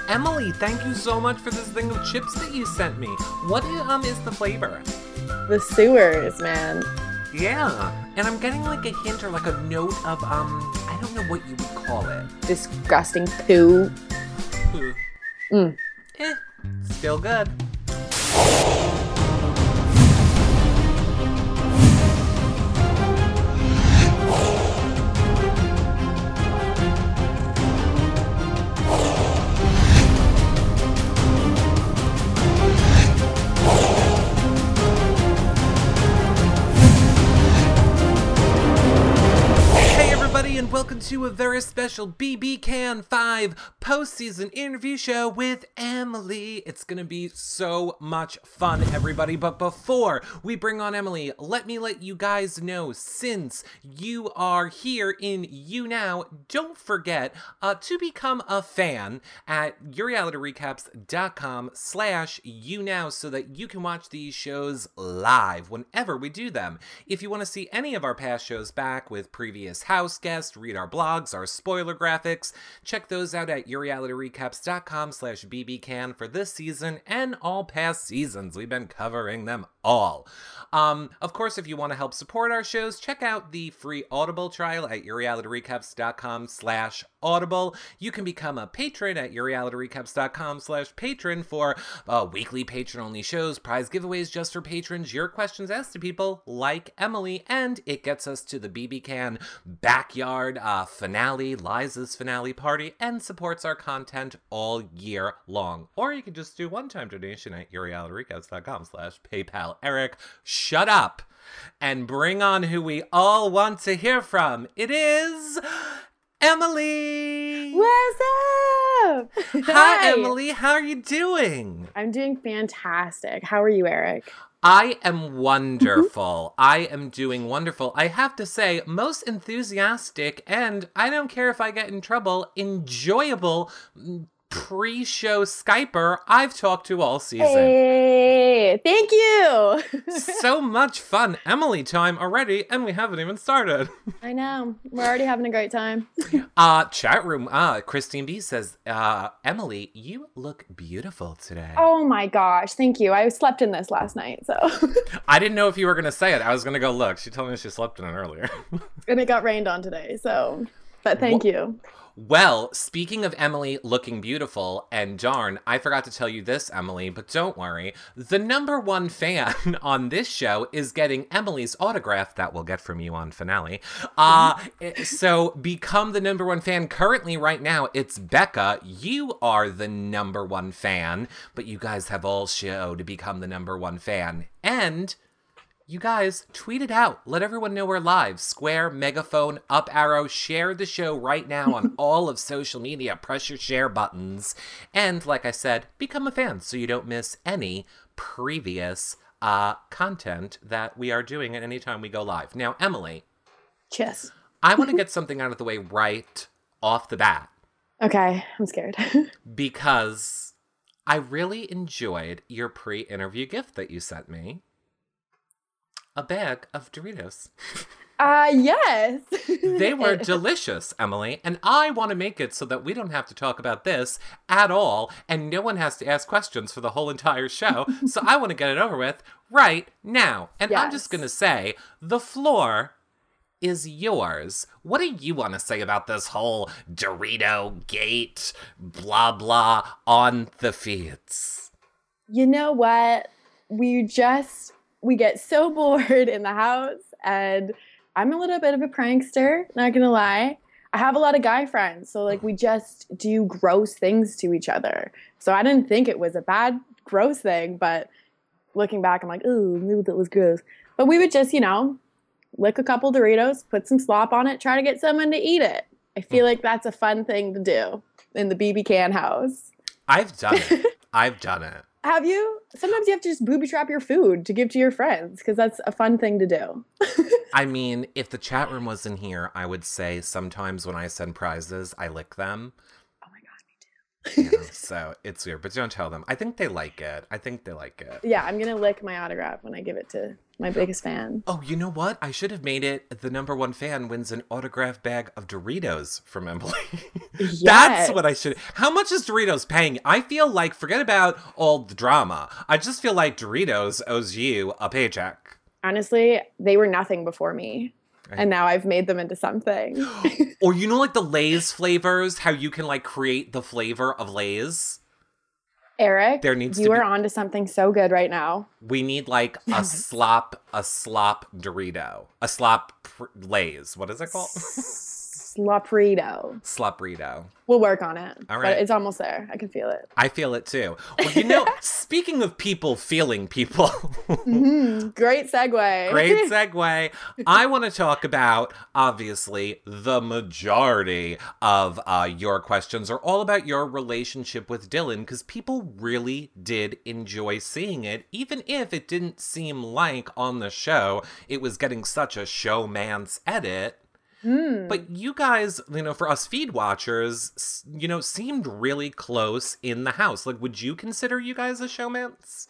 Emily, thank you so much for this thing of chips that you sent me. What is the flavor? The sewers, man. Yeah, and I'm getting like a hint or like a note of, I don't know what you would call it. Disgusting poo. Ooh. Still good. And welcome to a very special BB Can 5 postseason interview show with Emily. It's gonna be so much fun, everybody. But before we bring on Emily, let me let you guys know, since you are here in YouNow, don't forget to become a fan at yourrealityrecaps.com/YouNow so that you can watch these shows live whenever we do them. If you want to see any of our past shows back with previous house guests, read our blogs, our spoiler graphics, check those out at yourrealityrecaps.com/bbcan for this season and all past seasons. We've been covering them all. Of course, if you want to help support our shows, check out the free Audible trial at yourrealityrecaps.com/audible. You can become a patron at yourrealityrecaps.com/patron for weekly patron-only shows, prize giveaways just for patrons, your questions asked to people like Emily, and it gets us to the BB Can backyard finale, Liza's finale party, and supports our content all year long. Or you can just do one-time donation at yourrealityrecaps.com/PayPal. Eric, shut up and bring on who we all want to hear from. It is Emily. What's up? Hi, Emily. How are you doing? I'm doing fantastic. How are you, Eric? I am wonderful. I am doing wonderful. I have to say, most enthusiastic and, I don't care if I get in trouble, enjoyable pre-show Skyper I've talked to all season. Hey, thank you. So much fun. Emily time already, and we haven't even started. I know. We're already having a great time. Chat room, Christine B says, Emily, you look beautiful today. Oh my gosh, thank you. I slept in this last night, so. I didn't know if you were going to say it. I was going to go look. She told me she slept in it earlier. And it got rained on today, so. But thank you. Well, speaking of Emily looking beautiful, and darn, I forgot to tell you this, Emily, but don't worry. The #1 fan on this show is getting Emily's autograph that we'll get from you on finale. So become the #1 fan. Currently, right now, it's Becca. You are the #1 fan, but you guys have all show to become the #1 fan. And you guys, tweet it out. Let everyone know we're live. Square, megaphone, up arrow. Share the show right now on all of social media. Press your share buttons. And like I said, become a fan so you don't miss any previous content that we are doing at any time we go live. Now, Emily. Yes. I want to get something out of the way right off the bat. Okay, I'm scared. Because I really enjoyed your pre-interview gift that you sent me. A bag of Doritos. Yes. They were delicious, Emily, and I want to make it so that we don't have to talk about this at all, and no one has to ask questions for the whole entire show, so I want to get it over with right now. And yes. I'm just going to say, the floor is yours. What do you want to say about this whole Dorito gate, blah, blah, on the feeds? You know what? We get so bored in the house, and I'm a little bit of a prankster, not gonna lie. I have a lot of guy friends, so like we just do gross things to each other. So I didn't think it was a bad, gross thing, but looking back, I'm like, ooh, maybe that was gross. But we would just, lick a couple Doritos, put some slop on it, try to get someone to eat it. I feel like that's a fun thing to do in the BB Can house. I've done it. I've done it. Have you? Sometimes you have to just booby trap your food to give to your friends because that's a fun thing to do. I mean, if the chat room wasn't here, I would say sometimes when I send prizes, I lick them. Oh my God, me too. Yes. So it's weird, but don't tell them. I think they like it. Yeah, I'm gonna lick my autograph when I give it to my biggest fan. Oh, you know what? I should have made it the number one fan wins an autograph bag of Doritos from Emily. Yes. That's what I should. How much is Doritos paying? I feel like, forget about all the drama. I just feel like Doritos owes you a paycheck. Honestly, they were nothing before me. Right. And now I've made them into something. Or you know, like the Lay's flavors, how you can like create the flavor of Lay's? Eric, There needs you to be- are onto something so good right now. We need like a slop Dorito. A slop Lay's. What is it called? Sloprito. Sloprito. We'll work on it. All right. But it's almost there. I can feel it. I feel it too. Well, you know, speaking of people feeling people. Great segue. Great segue. I want to talk about, obviously, the majority of your questions are all about your relationship with Dylan, because people really did enjoy seeing it, even if it didn't seem like on the show it was getting such a showman's edit. But you guys, you know, for us feed watchers, you know, seemed really close in the house. Like, would you consider you guys a showmance?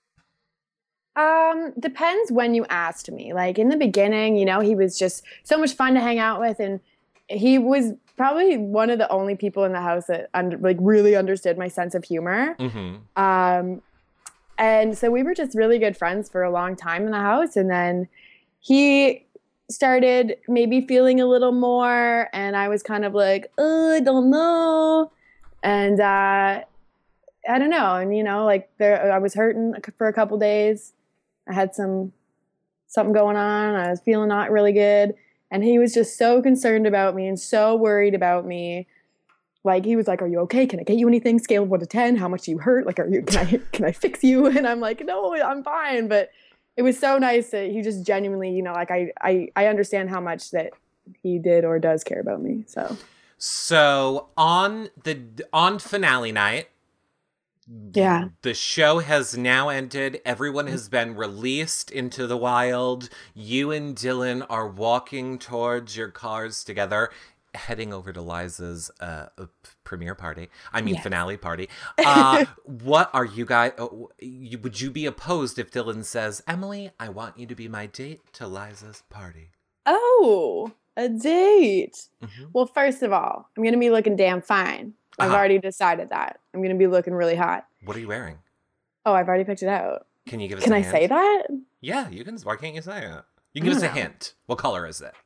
Depends when you asked me. Like in the beginning, you know, he was just so much fun to hang out with, and he was probably one of the only people in the house that really understood my sense of humor. Mm-hmm. And so we were just really good friends for a long time in the house, and then he started maybe feeling a little more, and I was kind of like, I don't know. And I don't know. And you know, like I was hurting for a couple days. I had something going on. I was feeling not really good. And he was just so concerned about me and so worried about me. Like he was like, "Are you okay? Can I get you anything? Scale of 1 to 10. How much do you hurt? Like, can I fix you?" And I'm like, "No, I'm fine." But it was so nice that he just genuinely, you know, like I understand how much that he did or does care about me. So on finale night, yeah, the show has now ended. Everyone has been released into the wild. You and Dylan are walking towards your cars together, heading over to Liza's premiere party. Finale party. What are you guys? Would you be opposed if Dylan says, "Emily, I want you to be my date to Liza's party"? Oh, a date. Mm-hmm. Well, first of all, I'm going to be looking damn fine. I've already decided that. I'm going to be looking really hot. What are you wearing? Oh, I've already picked it out. Can you give us Can a I hint? say that? Yeah, you can. Why can't you say it? You can give us a hint. What color is it?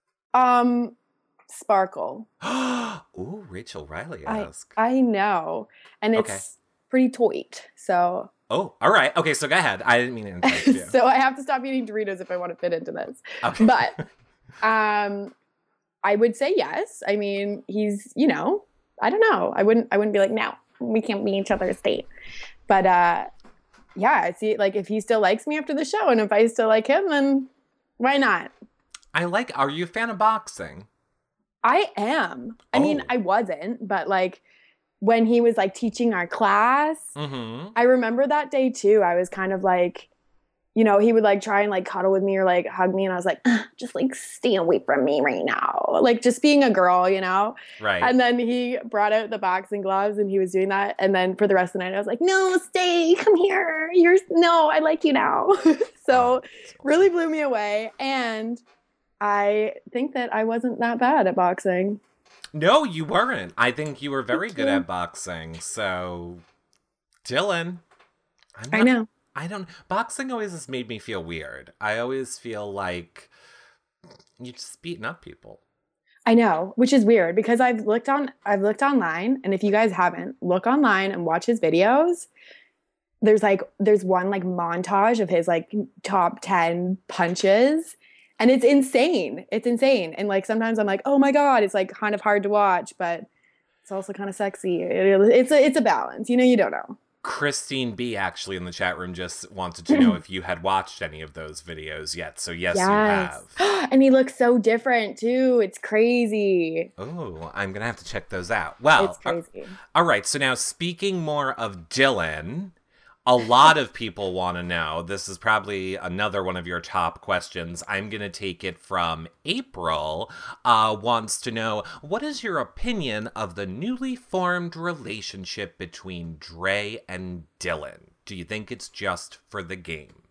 Sparkle. Ooh, Rachel Riley-esque. I know. And it's pretty tight. So. Oh, all right. Okay, so go ahead. I didn't mean to interrupt you. So I have to stop eating Doritos if I want to fit into this. Okay. But I would say yes. I mean, he's, you know, I don't know. I wouldn't be like, no, we can't be each other's date. But yeah, see, like if he still likes me after the show and if I still like him, then why not? Are you a fan of boxing? I am. I mean, I wasn't, but like when he was like teaching our class, I remember that day too. I was kind of like, you know, he would like try and like cuddle with me or like hug me. And I was like, just like stay away from me right now. Like just being a girl, you know? Right. And then he brought out the boxing gloves and he was doing that. And then for the rest of the night, I was like, no, stay, come here. I like you now. So really blew me away. And I think that I wasn't that bad at boxing. No, you weren't. I think you were very good at boxing. So, Dylan. I know. Boxing always has made me feel weird. I always feel like you're just beating up people. I know, which is weird because I've looked online, and if you guys haven't, look online and watch his videos. There's one like montage of his like top 10 punches. And it's insane. It's insane. And like sometimes I'm like, oh my God, it's like kind of hard to watch, but it's also kind of sexy. It's a balance. You know, you don't know. Christine B actually in the chat room just wanted to know if you had watched any of those videos yet. So yes. You have. And he looks so different too. It's crazy. Oh, I'm going to have to check those out. Well, it's crazy. All right. So now speaking more of Dylan, A lot of people want to know. This is probably another one of your top questions. I'm going to take it from April. Wants to know, what is your opinion of the newly formed relationship between Dre and Dylan? Do you think it's just for the game?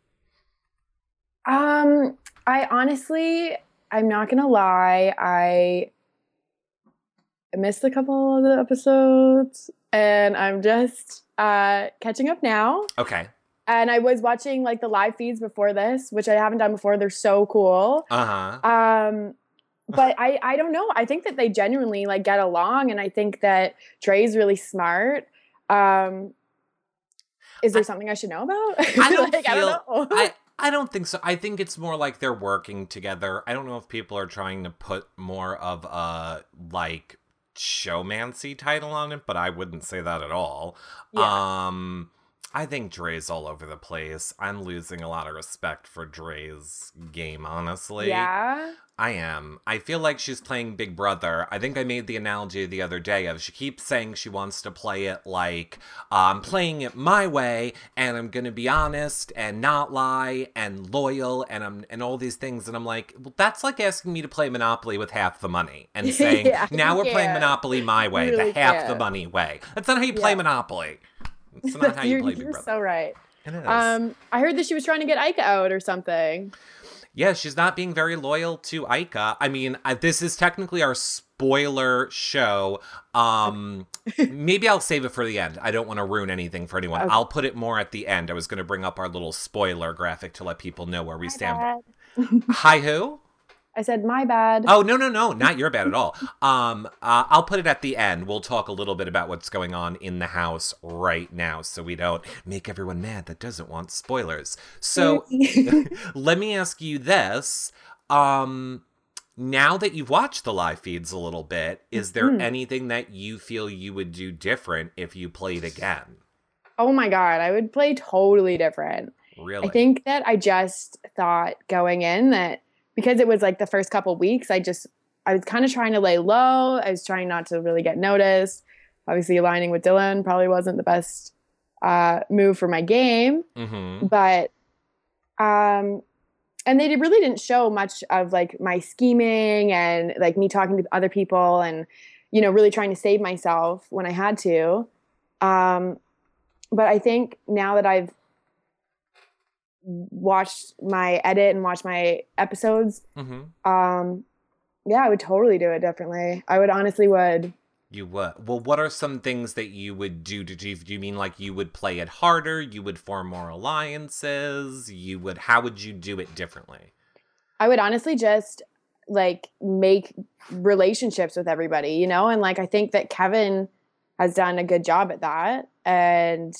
I honestly, I'm not gonna lie, I missed a couple of the episodes, and I'm just catching up now. Okay. And I was watching like the live feeds before this, which I haven't done before. They're so cool. Uh-huh. But I don't know. I think that they genuinely like get along, and I think that Dre's really smart. Is there something I should know about? I don't like, feel. I don't know. I don't think so. I think it's more like they're working together. I don't know if people are trying to put more of a like showmancy title on it, but I wouldn't say that at all. Yeah. I think Dre's all over the place. I'm losing a lot of respect for Dre's game, honestly. Yeah. I am. I feel like she's playing Big Brother. I think I made the analogy the other day of she keeps saying she wants to play it like I'm playing it my way, and I'm gonna be honest and not lie and loyal and all these things. And I'm like, well, that's like asking me to play Monopoly with half the money and saying Yeah, now we're you playing can't. Monopoly my way, You the really half the can't. money way. That's not how you play Yeah. Monopoly. It's not how you play Big You're Brother. so right. It is. I heard that she was trying to get Ike out or something. Yeah, she's not being very loyal to Aika. I mean, this is technically our spoiler show. Maybe I'll save it for the end. I don't want to ruin anything for anyone. Okay. I'll put it more at the end. I was going to bring up our little spoiler graphic to let people know where we My stand. bad. Hi, who? I said my bad. Oh, no, not your bad at all. I'll put it at the end. We'll talk a little bit about what's going on in the house right now so we don't make everyone mad that doesn't want spoilers. So let me ask you this. Now that you've watched the live feeds a little bit, is there anything that you feel you would do different if you played again? Oh my God, I would play totally different. Really? I think that I just thought going in that because it was like the first couple weeks, I was kind of trying to lay low. I was trying not to really get noticed. Obviously, aligning with Dylan probably wasn't the best move for my game, Mm-hmm. but and they really didn't show much of like my scheming and like me talking to other people and really trying to save myself when I had to. But I think now that I've watched my edit and watched my episodes, yeah, I would totally do it differently. I would honestly would. You would. Well, what are some things that you would do? Do you mean like you would play it harder? You would form more alliances? How would you do it differently? I would honestly just like make relationships with everybody, and like I think that Kevin has done a good job at that. And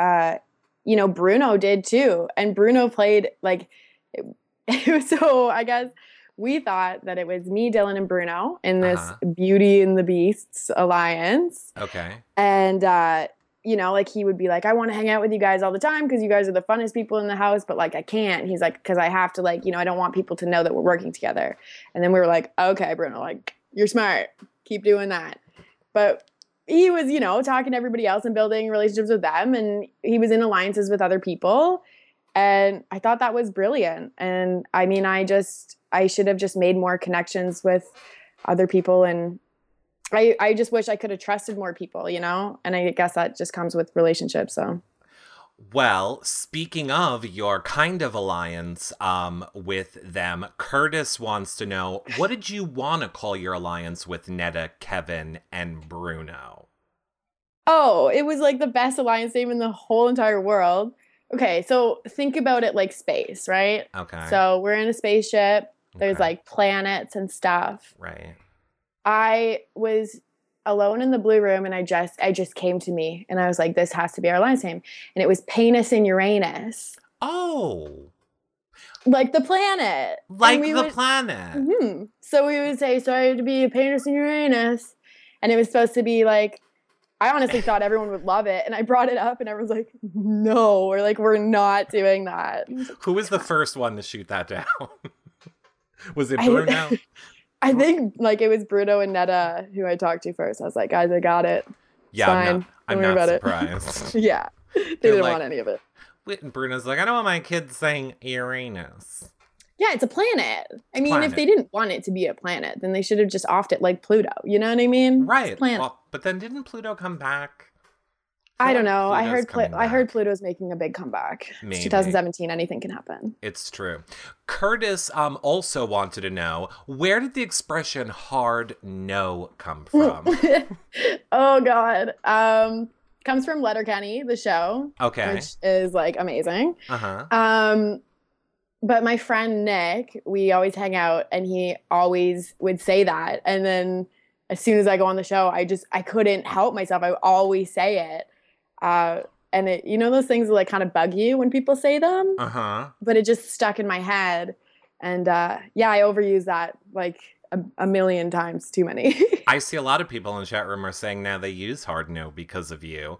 Bruno did too. And Bruno played like it was so I guess we thought that it was me, Dylan, and Bruno in this Beauty and the Beasts alliance. Okay. And, like he would be like, I want to hang out with you guys all the time because you guys are the funnest people in the house, but like I can't. He's like, because I have to like, I don't want people to know that we're working together. And then we were like, okay, Bruno, like you're smart. Keep doing that. But he was, talking to everybody else and building relationships with them. And he was in alliances with other people. And I thought that was brilliant. And I mean, I should have just made more connections with other people. And I just wish I could have trusted more people, and I guess that just comes with relationships. So, well, speaking of your kind of alliance with them, Curtis wants to know, what did you want to call your alliance with Netta, Kevin, and Bruno? Oh, it was like the best alliance name in the whole entire world. Okay, so think about it like space, right? Okay. So we're in a spaceship. There's like planets and stuff. Right. I was alone in the blue room and I just came to me and I was like, this has to be our alliance name. And it was Penis and Uranus. Oh. Like the planet. Like the planet. Mm-hmm. So we would say, sorry to be a Penis and Uranus. And it was supposed to be like, I honestly thought everyone would love it. And I brought it up and everyone's like, no, we're not doing that. Who was the first one to shoot that down? Was it Bruno? I think like it was Bruno and Netta who I talked to first. I was like, guys, I got it. Yeah, I'm not surprised. Yeah. They They're didn't like, want any of it. And Bruno's like, I don't want my kids saying Uranus. Yeah, it's a planet. I mean, Planet. if they didn't want it to be a planet, then they should have just offed it like Pluto. You know what I mean? Right. It's a planet. Well, but then didn't Pluto come back? I don't know. Pluto's I heard Pluto's making a big comeback. It's Maybe. 2017. Anything can happen. It's true. Curtis also wanted to know, where did the expression hard no come from? Oh God. Comes from Letterkenny, the show. Okay. Which is like amazing. Uh-huh. But my friend Nick, we always hang out, and he always would say that. And then as soon as I go on the show, I couldn't help myself. I would always say it. And it, you know, those things that like kind of bug you when people say them. Uh-huh. But it just stuck in my head. And yeah, I overuse that like a million times too many. I see a lot of people in the chat room are saying now they use hard no because of you.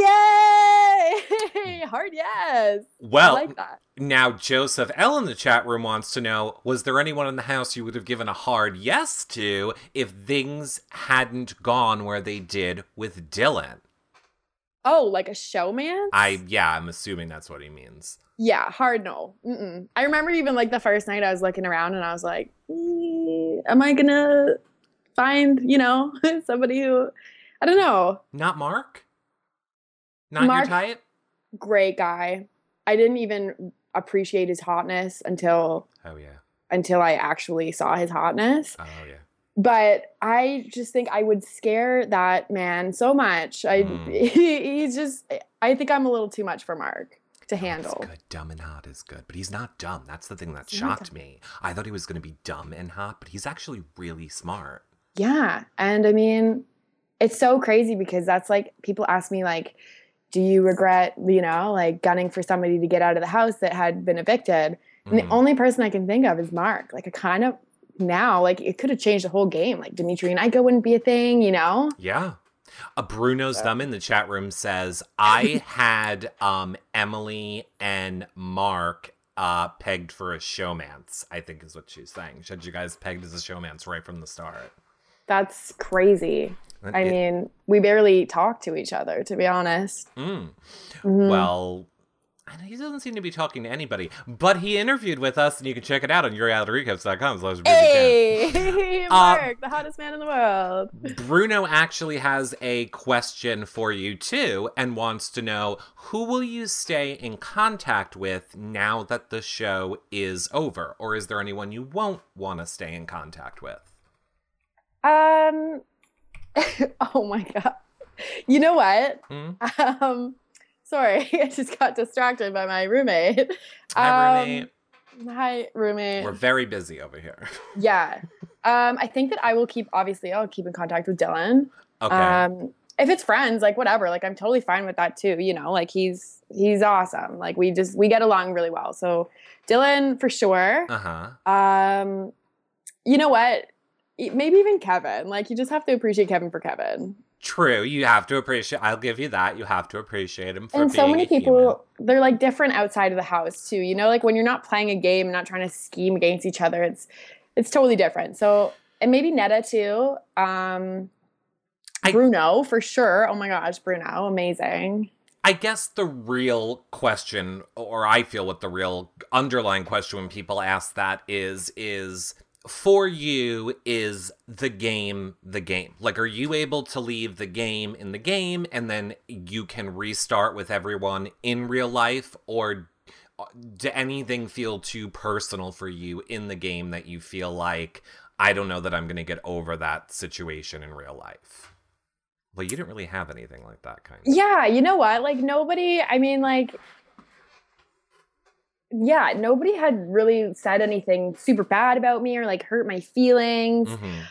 Yay! Hard yes. Well, I like that. Now Joseph L in the chat room wants to know, was there anyone in the house you would have given a hard yes to if things hadn't gone where they did with Dylan? Oh, like a showman? I'm assuming that's what he means. Yeah, hard no. Mm-mm. I remember even like the first night I was looking around and I was like, am I gonna find, you know, somebody who, I don't know. Not Mark? Not Mark, your type? Great guy. I didn't even appreciate his hotness until I actually saw his hotness. Oh yeah. But I just think I would scare that man so much. He's just, I think I'm a little too much for Mark to handle. That's good. Dumb and hot is good. But he's not dumb. That's the thing that shocked me. I thought he was going to be dumb and hot, but he's actually really smart. Yeah. And I mean, it's so crazy because that's like, people ask me like, do you regret, you know, like gunning for somebody to get out of the house that had been evicted? And the only person I can think of is Mark. Like I kind of, now, like it could have changed the whole game. Like Dimitri and Ika wouldn't be a thing, you know? Yeah. Bruno's Thumb in the chat room says, I had Emily and Mark pegged for a showmance, I think is what she's saying. She had you guys pegged as a showmance right from the start. That's crazy. I mean, we barely talk to each other, to be honest. Well, he doesn't seem to be talking to anybody, but he interviewed with us, and you can check it out on YourRealityRecaps.com. So hey, Mark, the hottest man in the world. Bruno actually has a question for you, too, and wants to know, who will you stay in contact with now that the show is over? Or is there anyone you won't want to stay in contact with? Oh, my God. You know what? Sorry, I just got distracted by my roommate. Hi, roommate. Hi, roommate. We're very busy over here. Yeah. I think that I'll keep in contact with Dylan. Okay. If it's friends, like whatever, like I'm totally fine with that too. You know, like he's awesome. Like we get along really well. So Dylan for sure. You know what? Maybe even Kevin. Like you just have to appreciate Kevin for Kevin. True, you have to appreciate. I'll give you that. You have to appreciate him for and being so many people, human. They're like different outside of the house too. You know, like when you're not playing a game and not trying to scheme against each other, it's totally different. So, and maybe Netta too. Bruno for sure. Oh my gosh, Bruno, amazing. I guess the real question, or I feel what the real underlying question when people ask that is for you, is the game the game? Like, are you able to leave the game in the game and then you can restart with everyone in real life? Or do anything feel too personal for you in the game that you feel like, I don't know that I'm going to get over that situation in real life? Well, you didn't really have anything like that, kind of. Yeah, you know what? Like, nobody, I mean, like, yeah, nobody had really said anything super bad about me or like hurt my feelings.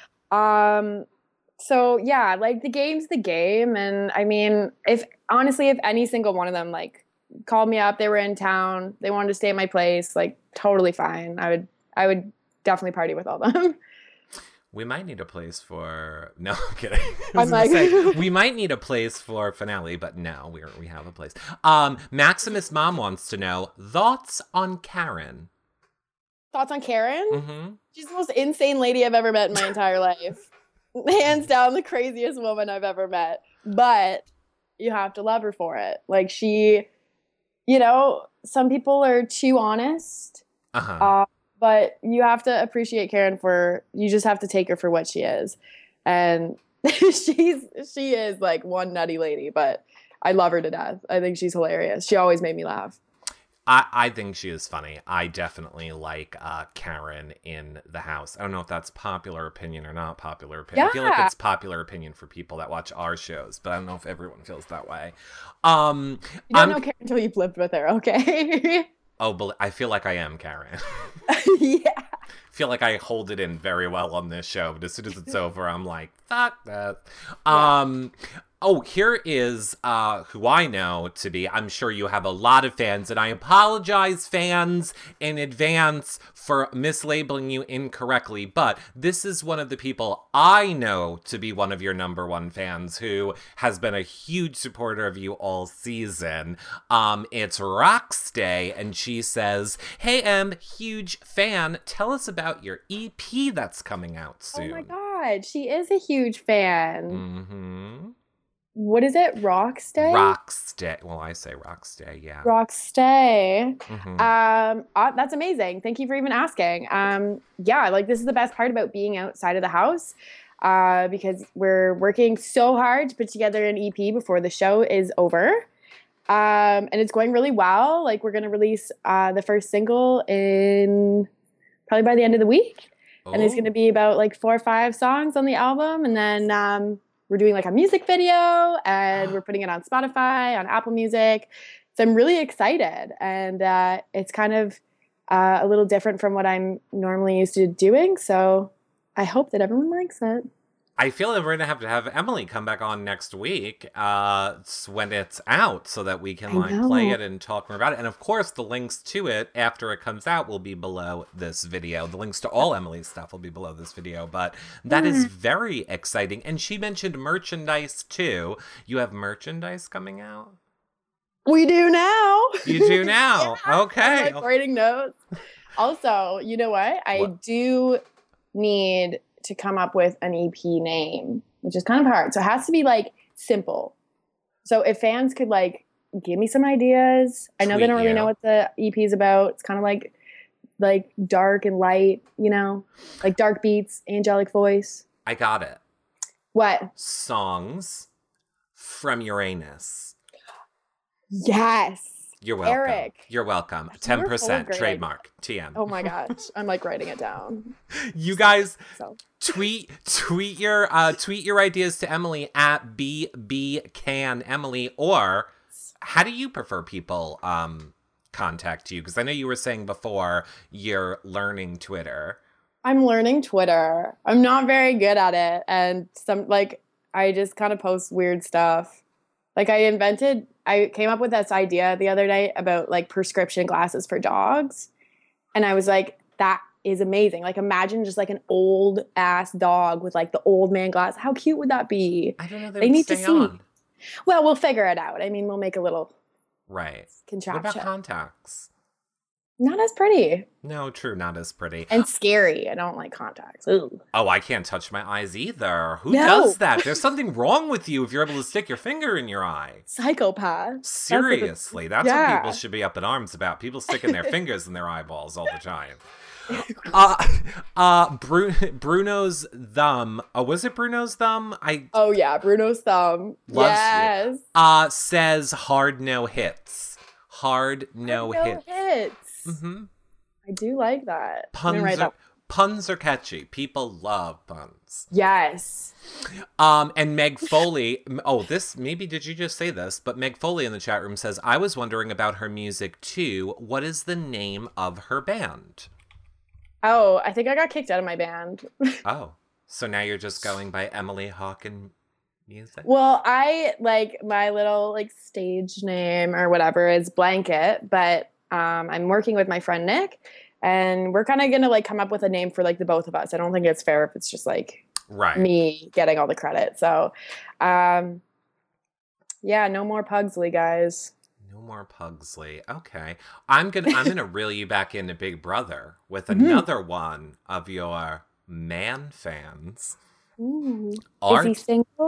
So yeah, like the game's the game. And I mean, if any single one of them like called me up, they were in town, they wanted to stay at my place, like totally fine. I would definitely party with all of them. We might need a place for... No, I'm kidding. We might need a place for finale, but no, we have a place. Maximus Mom wants to know, thoughts on Karen? Thoughts on Karen? She's the most insane lady I've ever met in my entire life. Hands down, the craziest woman I've ever met. But, you have to love her for it. Like she, some people are too honest. Uh-huh. But you have to appreciate Karen you just have to take her for what she is. And she is like one nutty lady, but I love her to death. I think she's hilarious. She always made me laugh. I think she is funny. I definitely like Karen in the house. I don't know if that's popular opinion or not popular opinion. I feel like Yeah. it's popular opinion for people that watch our shows, but I don't know if everyone feels that way. You don't I'm know Karen until you've lived with her, okay? I feel like I am Karen. Yeah. Feel like I hold it in very well on this show, but as soon as it's over, I'm like, fuck that. Yeah. Oh, here is who I know to be. I'm sure you have a lot of fans, and I apologize, fans, in advance for mislabeling you incorrectly. But this is one of the people I know to be one of your number one fans who has been a huge supporter of you all season. It's Rockstay, and she says, "Hey, Em, huge fan. Tell us about your EP that's coming out Oh soon." my God. She is a huge fan. Mm-hmm. What is it? Rockstay? Rockstay. Well, I say Rockstay, yeah. Rockstay. Mm-hmm. That's amazing. Thank you for even asking. Yeah, like this is the best part about being outside of the house, because we're working so hard to put together an EP before the show is over. And it's going really well. Like we're gonna release the first single in probably by the end of the week. And it's going to Oh, be about like 4 or 5 songs on the album. And then we're doing like a music video and we're putting it on Spotify, on Apple Music. So I'm really excited. And it's kind of a little different from what I'm normally used to doing. So I hope that everyone likes it. I feel like we're gonna have to have Emily come back on next week when it's out so that we can I like play know. it and talk more about it. And of course, the links to it after it comes out will be below this video. The links to all Emily's stuff will be below this video. But that is Yeah. very exciting. And she mentioned merchandise too. You have merchandise coming out? We do now. You do Yeah. now. I'm Okay. like writing notes. Also, you know what? I What? do need to come up with an EP name, which is kind of hard. So it has to be like simple. So if fans could like give me some ideas. I know they Tweet don't really know you. what the EP is about. It's kind of like dark and light, like dark beats, angelic voice. I got it. What? Songs from Uranus. Yes. You're welcome. Eric. You're welcome. You were full of 10% great trademark. TM. Oh my gosh. I'm like writing it down. You guys So tweet your ideas to Emily at bbcanemily, or how do you prefer people contact you? Because I know you were saying before you're learning Twitter. I'm learning Twitter. I'm not very good at it. And I just kind of post weird stuff. Like I came up with this idea the other night about like prescription glasses for dogs. And I was like, that is amazing. Like imagine just like an old ass dog with like the old man glass. How cute would that be? I don't know. They They would need to stay see. on. Well, we'll figure it out. I mean, we'll make a little Right. What about contraption. contacts? Not as pretty No, true. Not as pretty. and scary. I don't like contacts. Ooh. Oh, I can't touch my eyes either. Who No. does that? There's something wrong with you if you're able to stick your finger in your eye. Psychopath. Seriously, that's what Yeah. people should be up in arms about. People sticking their fingers in their eyeballs all the time. Bruno's thumb. Oh, was it Bruno's thumb? Oh yeah, Bruno's thumb. Loves Yes. Says hard no hits. Hard no hits. Mm-hmm. I do like that. I'm gonna write that. Puns are catchy. People love puns. Yes. And Meg Foley, did you just say this? But Meg Foley in the chat room says, I was wondering about her music too. What is the name of her band? Oh, I think I got kicked out of my band. Oh, so now you're just going by Emily Hawken Music? Well, I like my little like stage name or whatever is Blanket, but I'm working with my friend Nick, and we're kind of gonna like come up with a name for like the both of us. I don't think it's fair if it's just like Right. me getting all the credit. So, yeah, no more Pugsley, guys. No more Pugsley. Okay. I'm gonna reel you back into Big Brother with another one of your man fans. Ooh. Is Art he single?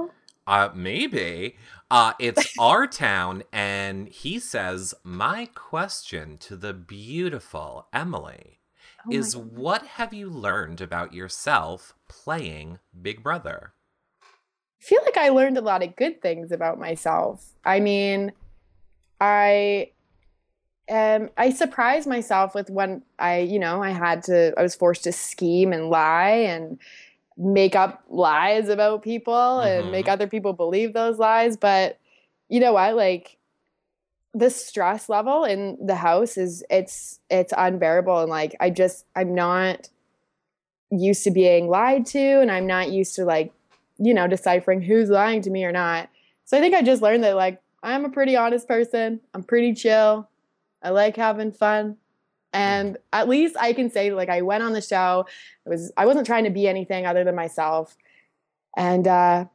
Maybe. It's our town, and he says, my question to the beautiful Emily Oh my is god. what have you learned about yourself playing Big Brother? I feel like I learned a lot of good things about myself. I mean, I I surprised myself with when I was forced to scheme and lie and make up lies about people and make Mm-hmm. other people believe those lies. But you know what? Like the stress level in the house is it's unbearable. And like I'm not used to being lied to, and I'm not used to like, deciphering who's lying to me or not. So I think I just learned that like I'm a pretty honest person. I'm pretty chill. I like having fun. And at least I can say like I went on the show. I wasn't trying to be anything other than myself. And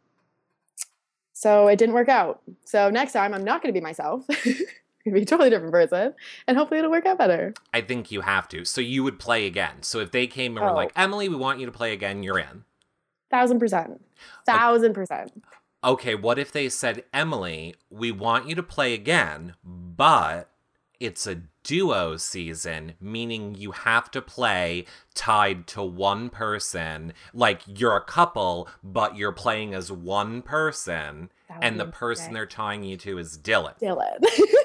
so it didn't work out. So next time I'm not going to be myself. Be a totally different person, and hopefully it'll work out better. I think you have to. So you would play again. So if they came and were like, Oh, Emily, we want you to play again, you're in. 1000%. O- 1000%. Okay, what if they said, Emily, we want you to play again, but it's a duo season, meaning you have to play tied to one person. Like you're a couple, but you're playing as one person, That would and be the person insane. they're tying you to is Dylan. Dylan.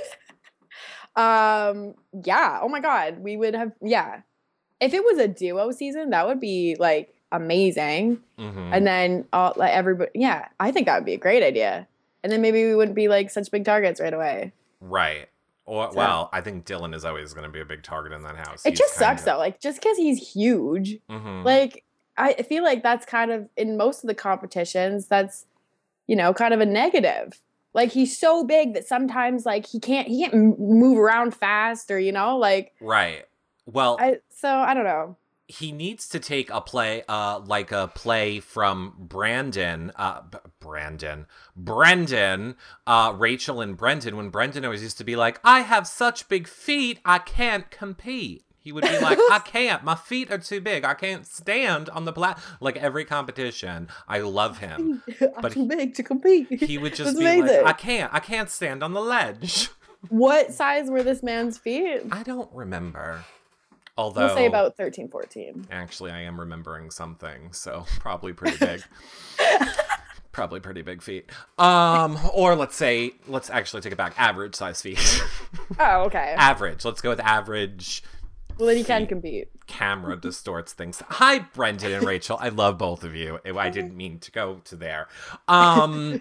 Yeah. Oh my God. We would have, yeah. If it was a duo season, that would be like amazing. Mm-hmm. And then all like everybody, yeah, I think that would be a great idea. And then maybe we wouldn't be like such big targets right away. Right. Or, So well, I think Dylan is always going to be a big target in that house. it He's just kind sucks of. though. Like just because he's huge, Mm-hmm. like I feel like that's kind of in most of the competitions, that's, kind of a negative. Like he's so big that sometimes like he can't move around fast, or like Right. Well, I don't know. he needs to take a play, like a play from Brendan, Rachel and Brendan, when Brendan always used to be like, I have such big feet, I can't compete. He would be like, I can't, my feet are too big, I can't stand on the like every competition. I love him. I'm But too big to compete. he would just That's be like, amazing. I can't stand on the ledge. What size were this man's feet? I don't remember. We'll say Although, about 13, 14. actually, I am remembering something, so probably pretty big. Probably pretty big feet. Or let's actually take it back. Average size feet. Oh, okay. Average. Let's go with average Well, then you can feet. compete. Camera distorts things. Hi, Brendan and Rachel. I love both of you. I didn't mean to go to there. Um,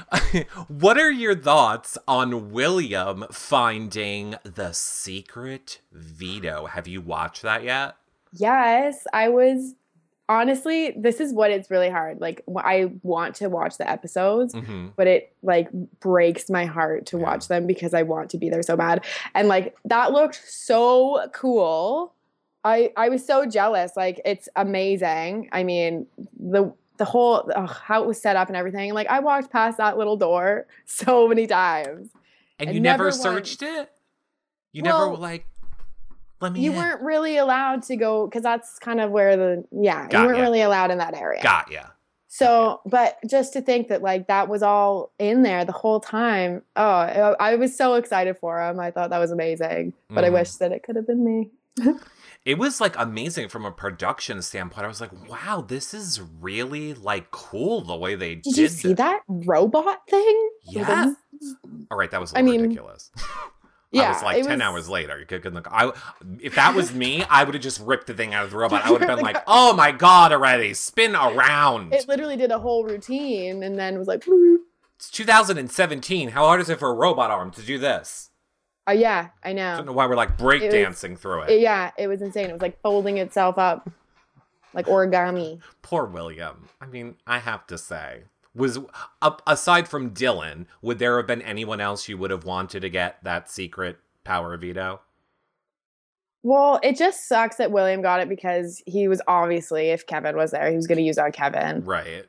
what are your thoughts on William finding the secret veto? Have you watched that yet? Yes, I was honestly, this is what it's really hard. Like I want to watch the episodes, Mm-hmm. but it like breaks my heart to Yeah. watch them because I want to be there so bad. And like that looked so cool. I was so jealous. Like it's amazing. I mean, the whole how it was set up and everything. Like I walked past that little door so many times And you and never never once. searched it? You never were Well, like, let me you in. weren't really allowed to go because that's kind of where you Got weren't ya. really allowed in that area. Got ya. Okay. So, but just to think that like that was all in there the whole time. Oh, I was so excited for him. I thought that was amazing, but I Mm-hmm. wish that it could have been me. It was like amazing from a production standpoint. I was like, wow, this is really like cool the way they Did you did see this. that robot thing? It was Yeah. All right, that was a I little mean, ridiculous. I was yeah, like it 10 was. hours later. You could look. If that was me, I would have just ripped the thing out of the robot. I would have been like, Like, oh my God, already. Spin around. it literally did a whole routine and then was like, "Bloop." It's 2017. How hard is it for a robot arm to do this? Oh yeah, I I don't know. know why we're like It was, breakdancing through it. yeah, it was insane. It was like folding itself up like origami. Poor William. I mean, I have to say, was aside from Dylan, would there have been anyone else you would have wanted to get that secret power veto? Well, it just sucks that William got it because he was obviously, if Kevin was there, he was going to use on Kevin. Right.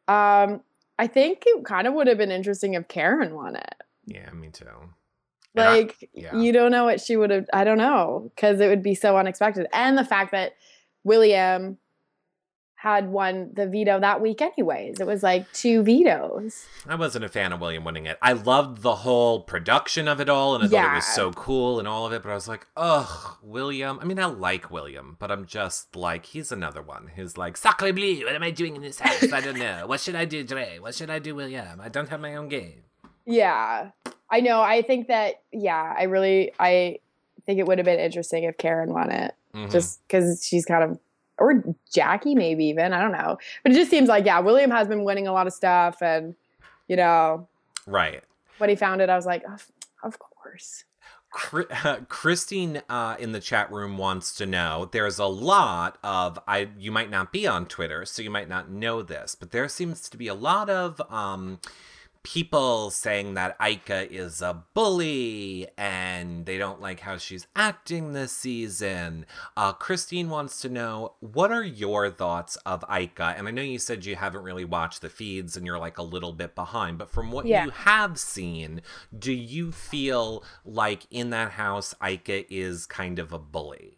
I think it kind of would have been interesting if Karen won it. Yeah, me too. Like, yeah. you don't know what she would have, I don't know, because it would be so unexpected. And the fact that William had won the veto that week anyways. It was like 2 vetoes. I wasn't a fan of William winning it. I loved the whole production of it all, and I thought it was so cool and all of it, but I was like, ugh, William. I mean, I like William, but I'm just like, he's another one who's like, Sacre bleu, what am I doing in this house? I don't know. What should I do, Dre? What should I do, William? I don't have my own game. Yeah, I know. I think that, I think it would have been interesting if Karen won it, just because she's kind of, or Jackie maybe even, I don't know. But it just seems like, William has been winning a lot of stuff, and, Right. When he found it, I was like, of course. Christine in the chat room wants to know, there's a lot of, you might not be on Twitter, so you might not know this, but there seems to be a lot of people saying that Ika is a bully and they don't like how she's acting this season. Christine wants to know, what are your thoughts of Ika? And I know you said you haven't really watched the feeds and you're like a little bit behind, but from what you have seen, do you feel like in that house Ika is kind of a bully?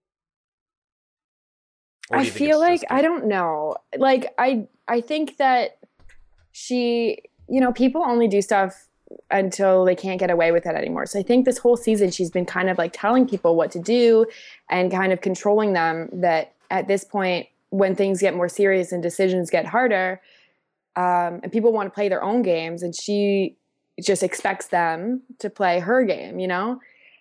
I feel like, I don't know. Like, I think that she, people only do stuff until they can't get away with it anymore. So I think this whole season she's been kind of like telling people what to do and kind of controlling them, that at this point, when things get more serious and decisions get harder, and people want to play their own games, and she just expects them to play her game, Do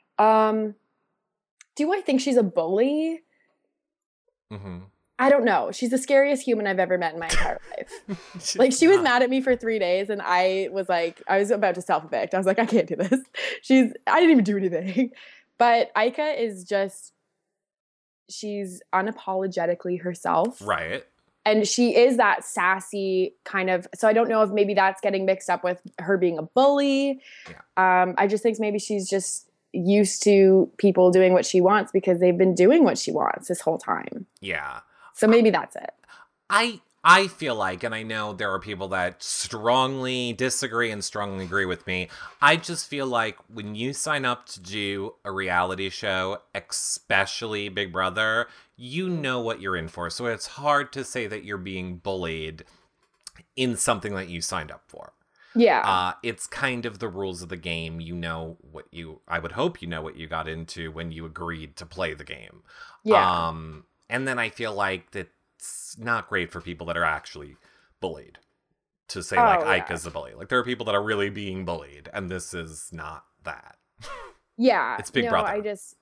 I think she's a bully? Mm-hmm. I don't know. She's the scariest human I've ever met in my entire life. Like, she was mad at me for 3 days, and I was about to self-evict. I was like, I can't do this. I didn't even do anything. But Ika is just, she's unapologetically herself. Right. And she is that sassy kind of, so I don't know if maybe that's getting mixed up with her being a bully. Yeah. I just think maybe she's just used to people doing what she wants because they've been doing what she wants this whole time. Yeah. So maybe that's it. I feel like, and I know there are people that strongly disagree and strongly agree with me, I just feel like when you sign up to do a reality show, especially Big Brother, you know what you're in for. So it's hard to say that you're being bullied in something that you signed up for. Yeah. It's kind of the rules of the game. I would hope you know what you got into when you agreed to play the game. Yeah. And then I feel like that's not great for people that are actually bullied to say, Ika's the bully. Like, there are people that are really being bullied, and this is not that. Yeah. It's Big Brother.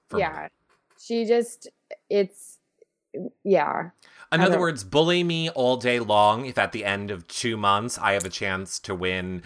In other words, bully me all day long if at the end of 2 months I have a chance to win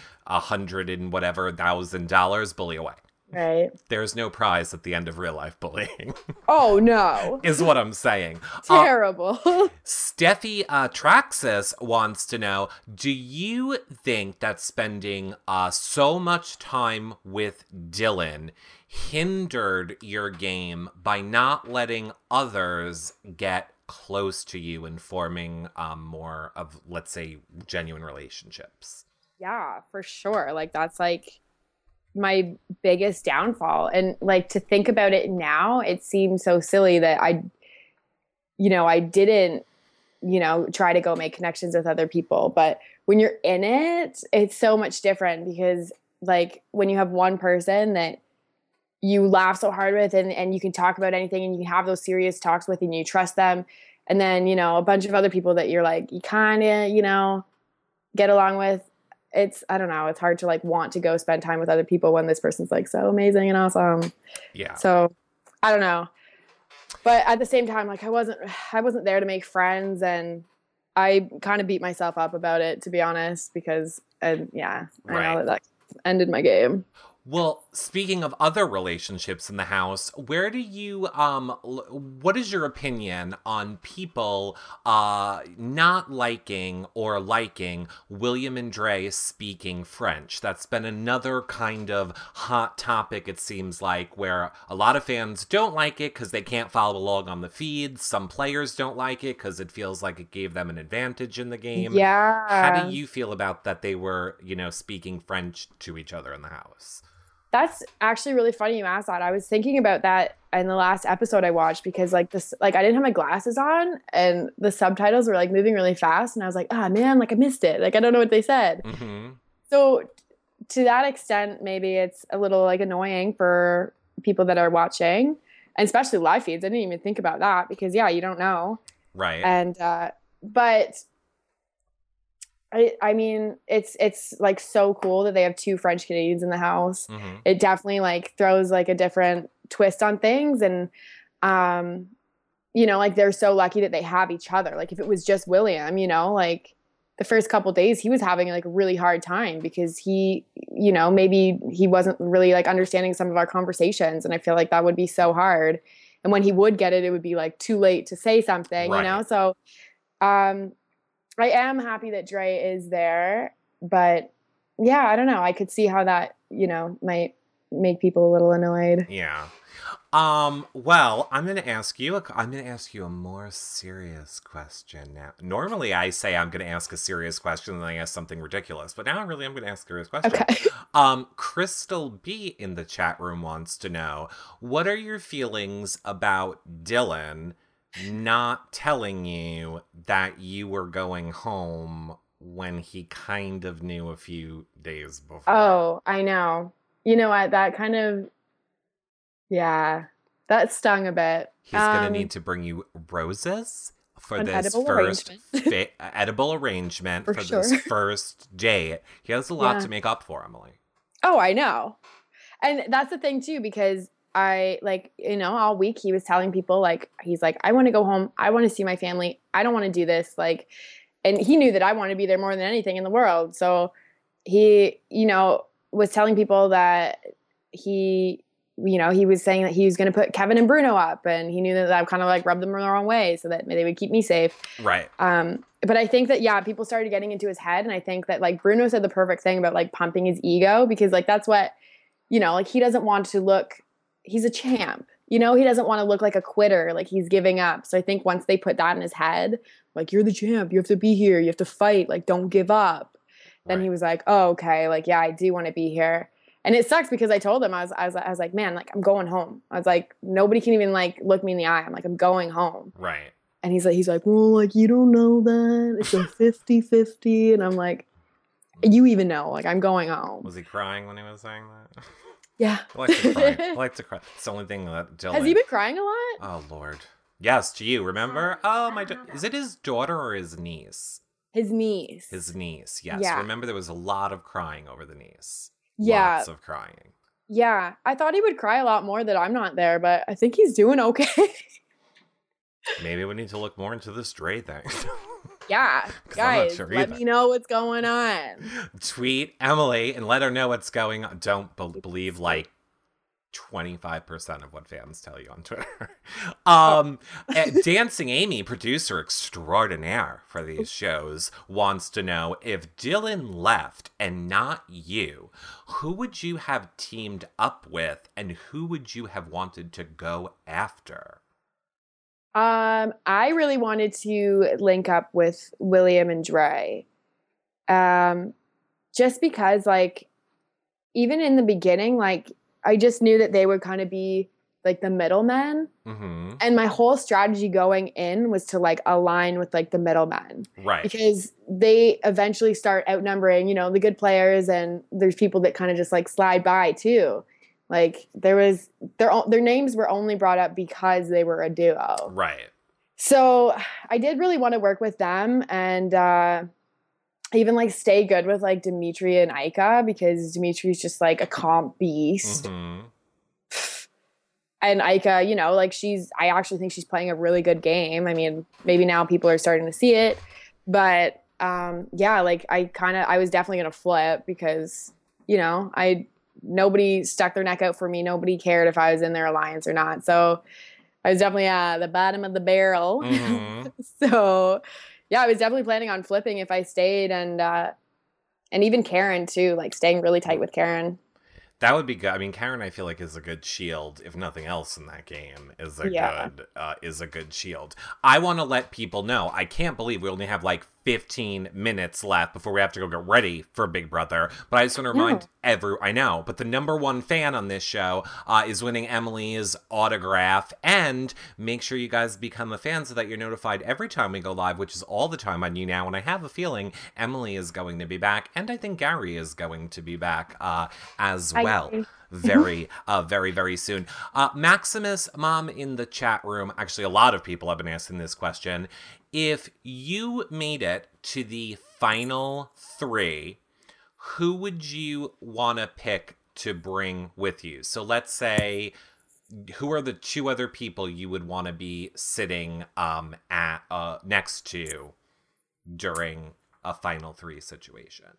$100,000, bully away. Right. There's no prize at the end of real life bullying. Oh, no. Is what I'm saying. Terrible. Steffi Traxis wants to know, do you think that spending so much time with Dylan hindered your game by not letting others get close to you and forming more of, let's say, genuine relationships? Yeah, for sure. Like, that's like my biggest downfall. And like, to think about it now, it seems so silly that I didn't, try to go make connections with other people. But when you're in it, it's so much different because, like, when you have one person that you laugh so hard with and you can talk about anything and you can have those serious talks with and you trust them. And then, a bunch of other people that you're like, you kind of, get along with. I don't know, it's hard to like want to go spend time with other people when this person's like so amazing and awesome. Yeah. So I don't know. But at the same time, like, I wasn't there to make friends, and I kind of beat myself up about it, to be honest, because I know that ended my game. Well, speaking of other relationships in the house, where do you, what is your opinion on people not liking or liking William and Dre speaking French? That's been another kind of hot topic, it seems like, where a lot of fans don't like it because they can't follow along on the feed. Some players don't like it because it feels like it gave them an advantage in the game. Yeah. How do you feel about that they were, speaking French to each other in the house? That's actually really funny you asked that. I was thinking about that in the last episode I watched because like this like I didn't have my glasses on and the subtitles were like moving really fast and I was like, ah man, like I missed it. Like I don't know what they said. Mm-hmm. So to that extent, maybe it's a little like annoying for people that are watching, and especially live feeds. I didn't even think about that because yeah, you don't know. Right. And but I mean, it's like so cool that they have two French Canadians in the house. Mm-hmm. It definitely like throws like a different twist on things, and you know, like they're so lucky that they have each other. Like if it was just William, you know, like the first couple days he was having like a really hard time because he, you know, maybe he wasn't really like understanding some of our conversations, and I feel like that would be so hard. And when he would get it, it would be like too late to say something, Right. you know. So I am happy that Dre is there, but yeah, I don't know. I could see how that, you know, might make people a little annoyed. Yeah. Well, I'm going to ask you a more serious question now. Normally I say I'm going to ask a serious question and then I ask something ridiculous, but now I'm going to ask a serious question. Okay. Crystal B in the chat room wants to know, what are your feelings about Dylan not telling you that you were going home when he kind of knew a few days before? Oh, I know. You know what? That kind of, yeah, that stung a bit. He's going to need to bring you roses for this edible first arrangement. edible arrangement for sure. this first date. He has a lot to make up for, Emily. Oh, I know. And that's the thing too, because I like, you know, all week he was telling people like, he's like, I want to go home. I want to see my family. I don't want to do this. Like, and he knew that I want to be there more than anything in the world. So he, you know, was telling people that he, you know, he was saying that he was going to put Kevin and Bruno up, and he knew that I kind of like rubbed them the wrong way so that they would keep me safe. Right. But I think that, yeah, people started getting into his head. And I think that like Bruno said the perfect thing about like pumping his ego, because like, that's what, you know, like he doesn't want to look, he's a champ, you know, he doesn't want to look like a quitter, like he's giving up. So I think once they put that in his head, like, you're the champ, you have to be here, you have to fight, like, don't give up. Then he was like, oh, okay, like, yeah, I do want to be here. And it sucks because I told him, I was like, man, like, I'm going home. I was like, nobody can even like look me in the eye. I'm like, I'm going home. Right. And he's like, well, like, you don't know that. It's a 50-50. And I'm like, you even know, like, I'm going home. Was he crying when he was saying that? Yeah. I like to cry. I like to cry. It's the only thing that Dylan... Has he been crying a lot? Oh, Lord. Yes, to you, remember? Oh, my... Is it his daughter or his niece? His niece. His niece, yes. Yeah. Remember, there was a lot of crying over the niece. Yeah. Lots of crying. Yeah. I thought he would cry a lot more that I'm not there, but I think he's doing okay. Maybe we need to look more into this Dre thing. Yeah. Guys, sure let me know what's going on. Tweet Emily and let her know what's going on. Don't believe like 25% of what fans tell you on Twitter. Dancing Amy, producer extraordinaire for these shows, wants to know, if Dylan left and not you, who would you have teamed up with and who would you have wanted to go after? I really wanted to link up with William and Dre. Just because like, even in the beginning, like, I just knew that they would kind of be like the middlemen. Mm-hmm. And my whole strategy going in was to like align with like the middlemen. Right. Because they eventually start outnumbering, you know, the good players, and there's people that kind of just like slide by too. Like there was their names were only brought up because they were a duo. Right. So I did really want to work with them, and even like stay good with like Dimitri and Aika, because Dimitri's just like a comp beast. Mm-hmm. And Aika, you know, like I actually think she's playing a really good game. I mean, maybe now people are starting to see it, but yeah, like I was definitely going to flip because, you know, nobody stuck their neck out for me. Nobody cared if I was in their alliance or not. So I was definitely at the bottom of the barrel. Mm-hmm. So yeah, I was definitely planning on flipping if I stayed, and even Karen too, like staying really tight with Karen. That would be good. I mean, Karen, I feel like, is a good shield. If nothing else in that game, is a good shield. I want to let people know. I can't believe we only have like 15 minutes left before we have to go get ready for Big Brother. But I just want to remind I know, but the number one fan on this show is winning Emily's autograph. And make sure you guys become a fan so that you're notified every time we go live, which is all the time on You Now. And I have a feeling Emily is going to be back. And I think Gary is going to be back as well. Very, very soon. Maximus Mom in the chat room. Actually, a lot of people have been asking this question. If you made it to the final 3, who would you want to pick to bring with you? So let's say, who are the 2 other people you would want to be sitting at next to during a final 3 situation?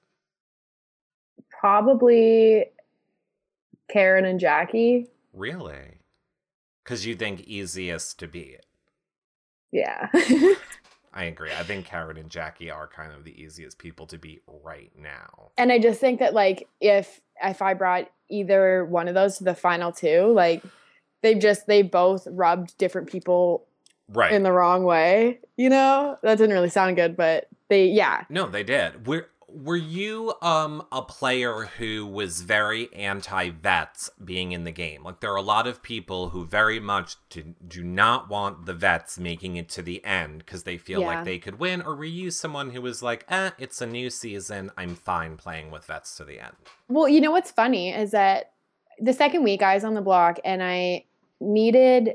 Probably Karen and Jackie. Really? Because you think easiest to beat? Yeah. I agree. I think Karen and Jackie are kind of the easiest people to beat right now. And I just think that, like, if I brought either one of those to the final 2, like, they both rubbed different people in the wrong way. You know? That didn't really sound good, but No, they did. Were you a player who was very anti-vets being in the game? Like, there are a lot of people who very much do not want the vets making it to the end because they feel like they could win. Or were you someone who was like, it's a new season, I'm fine playing with vets to the end? Well, you know what's funny is that the second week I was on the block and I needed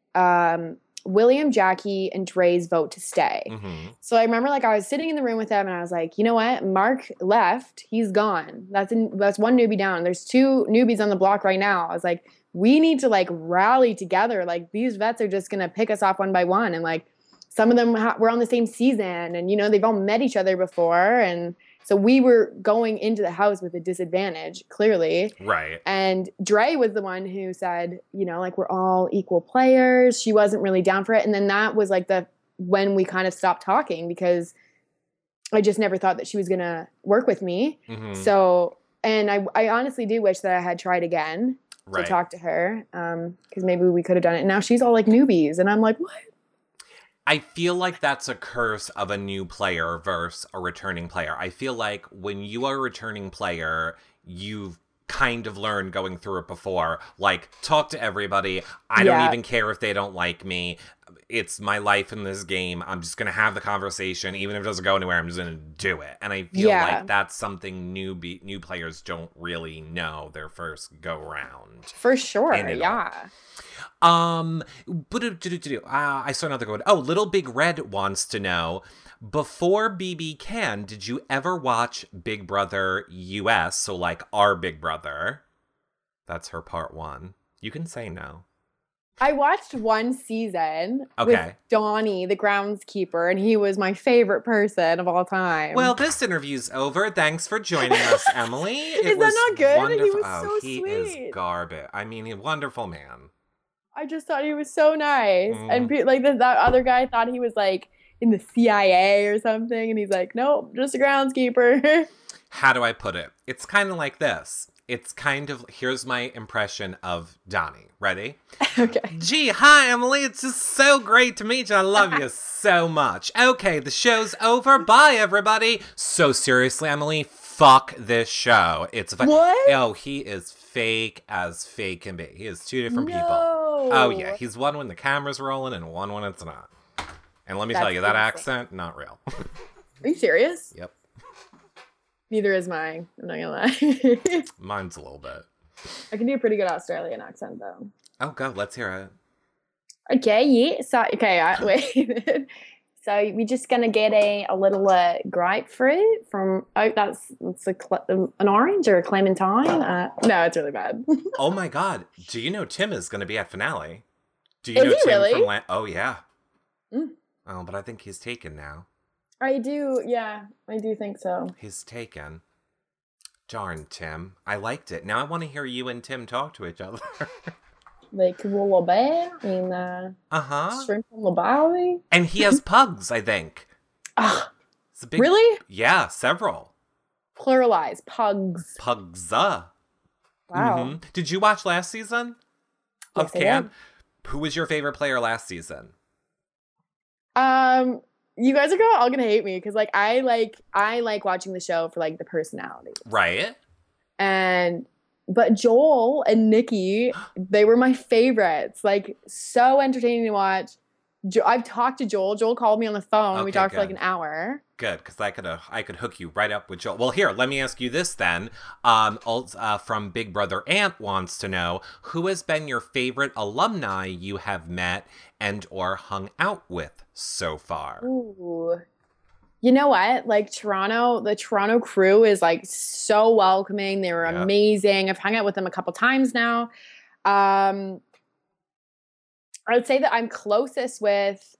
William, Jackie, and Dre's vote to stay. Mm-hmm. So I remember, like, I was sitting in the room with them and I was like, you know what? Mark left. He's gone. That's one newbie down. There's 2 newbies on the block right now. I was like, we need to, like, rally together. Like, these vets are just going to pick us off one by one. And, like, some of them were on the same season and, you know, they've all met each other before. And so we were going into the house with a disadvantage, clearly. Right. And Dre was the one who said, you know, like, we're all equal players. She wasn't really down for it. And then that was, like, when we kind of stopped talking because I just never thought that she was going to work with me. Mm-hmm. So, and I honestly do wish that I had tried again to talk to her because maybe we could have done it. And now she's all like newbies. And I'm like, what? I feel like that's a curse of a new player versus a returning player. I feel like when you are a returning player, you've kind of learned going through it before. Like, talk to everybody. I don't even care if they don't like me. It's my life in this game. I'm just going to have the conversation. Even if it doesn't go anywhere, I'm just going to do it. And I feel like that's something new players don't really know their first go round. For sure, yeah. I saw another one. Oh, Little Big Red wants to know, before BB Can, did you ever watch Big Brother US? So, like, our Big Brother. That's her part 1. You can say no. I watched 1 season with Donnie, the groundskeeper, and he was my favorite person of all time. Well, this interview's over. Thanks for joining us, Emily. Is that not good? Wonderful. He was so sweet. He is garbage. I mean, he's a wonderful man. I just thought he was so nice. And like that other guy thought he was like in the CIA or something. And he's like, nope, just a groundskeeper. How do I put it? It's kind of like this. It's kind of, here's my impression of Donnie. Ready? Okay. Gee, hi, Emily. It's just so great to meet you. I love you so much. Okay, the show's over. Bye, everybody. So seriously, Emily, fuck this show. It's what? Oh, he is fake as fake can be. He is 2 different people. Oh, yeah. He's one when the camera's rolling and one when it's not. And let me tell you, that accent, not real. Are you serious? Yep. Neither is mine. I'm not gonna lie. Mine's a little bit. I can do a pretty good Australian accent, though. Oh, go. Let's hear it. Okay, yeah. So, wait. So we're just gonna get a little grapefruit from. Oh, that's an orange or a clementine. No, it's really bad. Oh my God! Do you know Tim is gonna be at finale? Do you know Tim really? From Oh yeah. Oh, but I think he's taken now. I do, yeah. I do think so. He's taken. Darn, Tim. I liked it. Now I want to hear you and Tim talk to each other. Like koala bear and shrimp on the barbie. And he has pugs, I think. Really? Yeah, several. Pluralize. Pugs. Pugs. Wow. Mm-hmm. Did you watch last season of Yes, Can? Who was your favorite player last season? you guys are all gonna hate me because like I like watching the show for like the personality. Right? But Joel and Nikki, they were my favorites. Like so entertaining to watch. I've talked to Joel. Joel called me on the phone. Okay, We talked for like good. an hour. Good, because I could hook you right up with Joel. Well, here, let me ask you this then. From Big Brother Ant wants to know, who has been your favorite alumni you have met and or hung out with so far? Ooh. You know what? Like the Toronto crew is like so welcoming. They were Yeah. amazing. I've hung out with them a couple times now. I would say that I'm closest with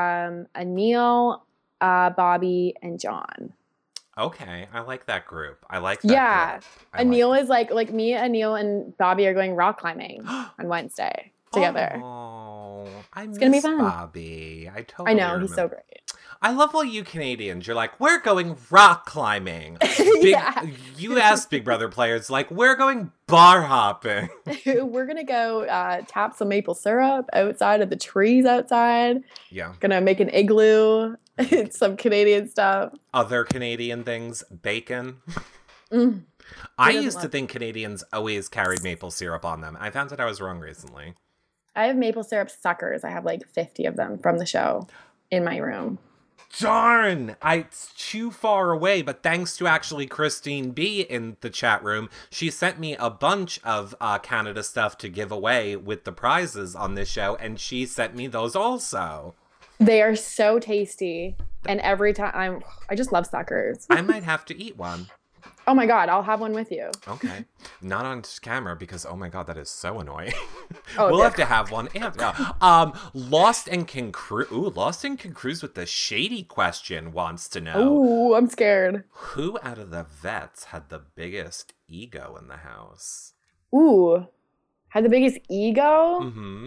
Anil, Bobby, and John. Okay, I like that group. I like that Yeah. group. Anil is like me, Anil, and Bobby are going rock climbing on Wednesday together. Oh, I It's gonna be miss fun. Bobby. I totally I know, remember. he's so great. I love all you Canadians. You're like, we're going rock climbing. Yeah. You ask Big Brother players, like, we're going bar hopping. We're gonna go tap some maple syrup outside of the trees outside. Yeah. Gonna make an igloo. It's some Canadian stuff. Other Canadian things, bacon. Mm. I doesn't used to love think Canadians always carried maple syrup on them. I found that I was wrong recently. I have maple syrup suckers. I have like 50 of them from the show in my room. Darn! It's too far away, but thanks to actually Christine B in the chat room, she sent me a bunch of Canada stuff to give away with the prizes on this show, and she sent me those also. They are so tasty. And every time I just love suckers. I might have to eat one. Oh my God, I'll have one with you. Okay. Not on camera because, oh my God, that is so annoying. Oh, We'll yeah. have to have one. And, yeah. Lost and Can Cruise. Ooh, Lost and Can Cruise with the shady question wants to know. Ooh, I'm scared. Who out of the vets had the biggest ego in the house? Ooh, had the biggest ego? Mm-hmm.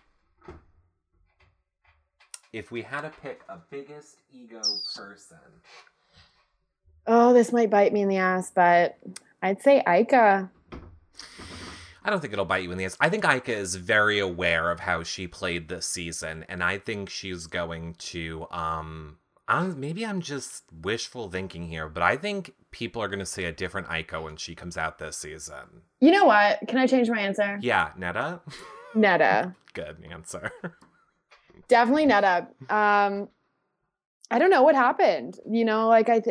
If we had to pick a biggest ego person. Oh, this might bite me in the ass, but I'd say Aika. I don't think it'll bite you in the ass. I think Aika is very aware of how she played this season, and I think she's going to, maybe I'm just wishful thinking here, but I think people are going to see a different Aika when she comes out this season. You know what? Can I change my answer? Yeah, Netta? Netta. Good answer. Definitely Netta. I don't know what happened. You know, like I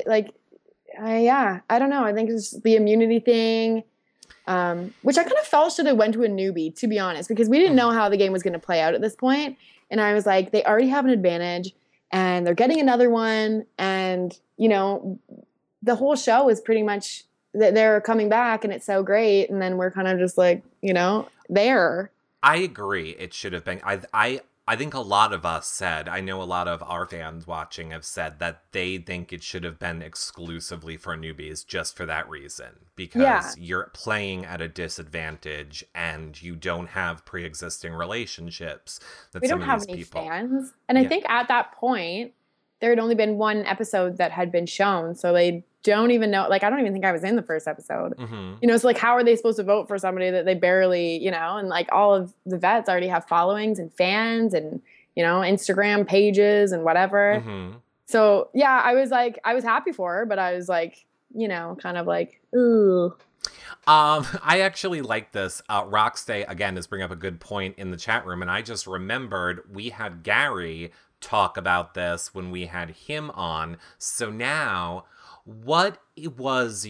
don't know. I think it's the immunity thing, which I kind of felt should have went to a newbie, to be honest, because we didn't know how the game was going to play out at this point. And I was like, they already have an advantage, and they're getting another one, and you know, the whole show is pretty much that they're coming back, and it's so great, and then we're kind of just like, you know, there. I agree. It should have been. I think a lot of us said, I know a lot of our fans watching have said that they think it should have been exclusively for newbies just for that reason. Because you're playing at a disadvantage and you don't have pre-existing relationships. That We some don't of have these any people... fans. And I think at that point, there had only been one episode that had been shown. So they don't even know. Like, I don't even think I was in the first episode. Mm-hmm. You know, it's like, how are they supposed to vote for somebody that they barely, you know, and like all of the vets already have followings and fans and, you know, Instagram pages and whatever. Mm-hmm. So, yeah, I was happy for her, but I was like, you know, kind of like, ooh. I actually like this. Rockstay, again, is bringing up a good point in the chat room. And I just remembered we had Gary talk about this when we had him on. So now, what was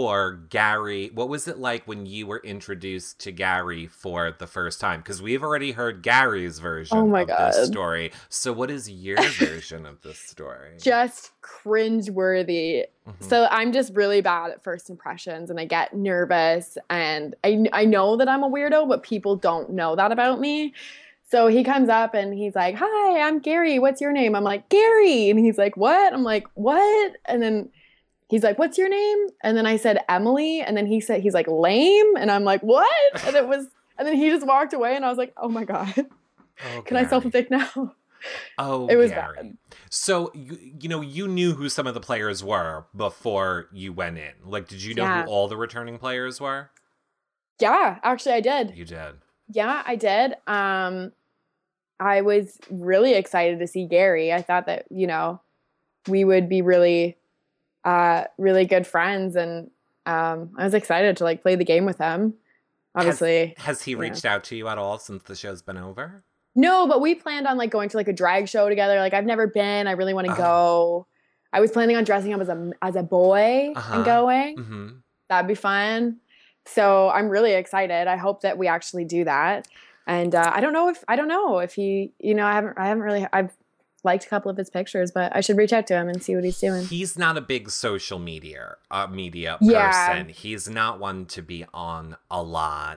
what was it like when you were introduced to Gary for the first time? Because we've already heard Gary's version of this story. So what is your version of this story? Just cringeworthy. Mm-hmm. So I'm just really bad at first impressions, and I get nervous, and I know that I'm a weirdo, but people don't know that about me. So he comes up and he's like, "Hi, I'm Gary. What's your name?" I'm like, "Gary." And he's like, "What?" I'm like, "What?" And then he's like, "What's your name?" And then I said, "Emily." And then he's like, "Lame." And I'm like, "What?" And and then he just walked away, and I was like, "Oh my God." Oh, can I self-evict now? Oh, it was Gary. bad. So, you knew who some of the players were before you went in. Like, did you know who all the returning players were? Yeah, actually I did. You did? Yeah, I did. I was really excited to see Gary. I thought that, you know, we would be really, really good friends. And I was excited to like play the game with him. Obviously, Has he yeah. reached out to you at all since the show's been over? No, but we planned on like going to like a drag show together. Like I've never been. I really want to Oh. go. I was planning on dressing up as a boy and Uh-huh. going. Mm-hmm. That'd be fun. So I'm really excited. I hope that we actually do that. And I don't know if he, I haven't really, I've liked a couple of his pictures, but I should reach out to him and see what he's doing. He's not a big social media Yeah. person. He's not one to be on a lot.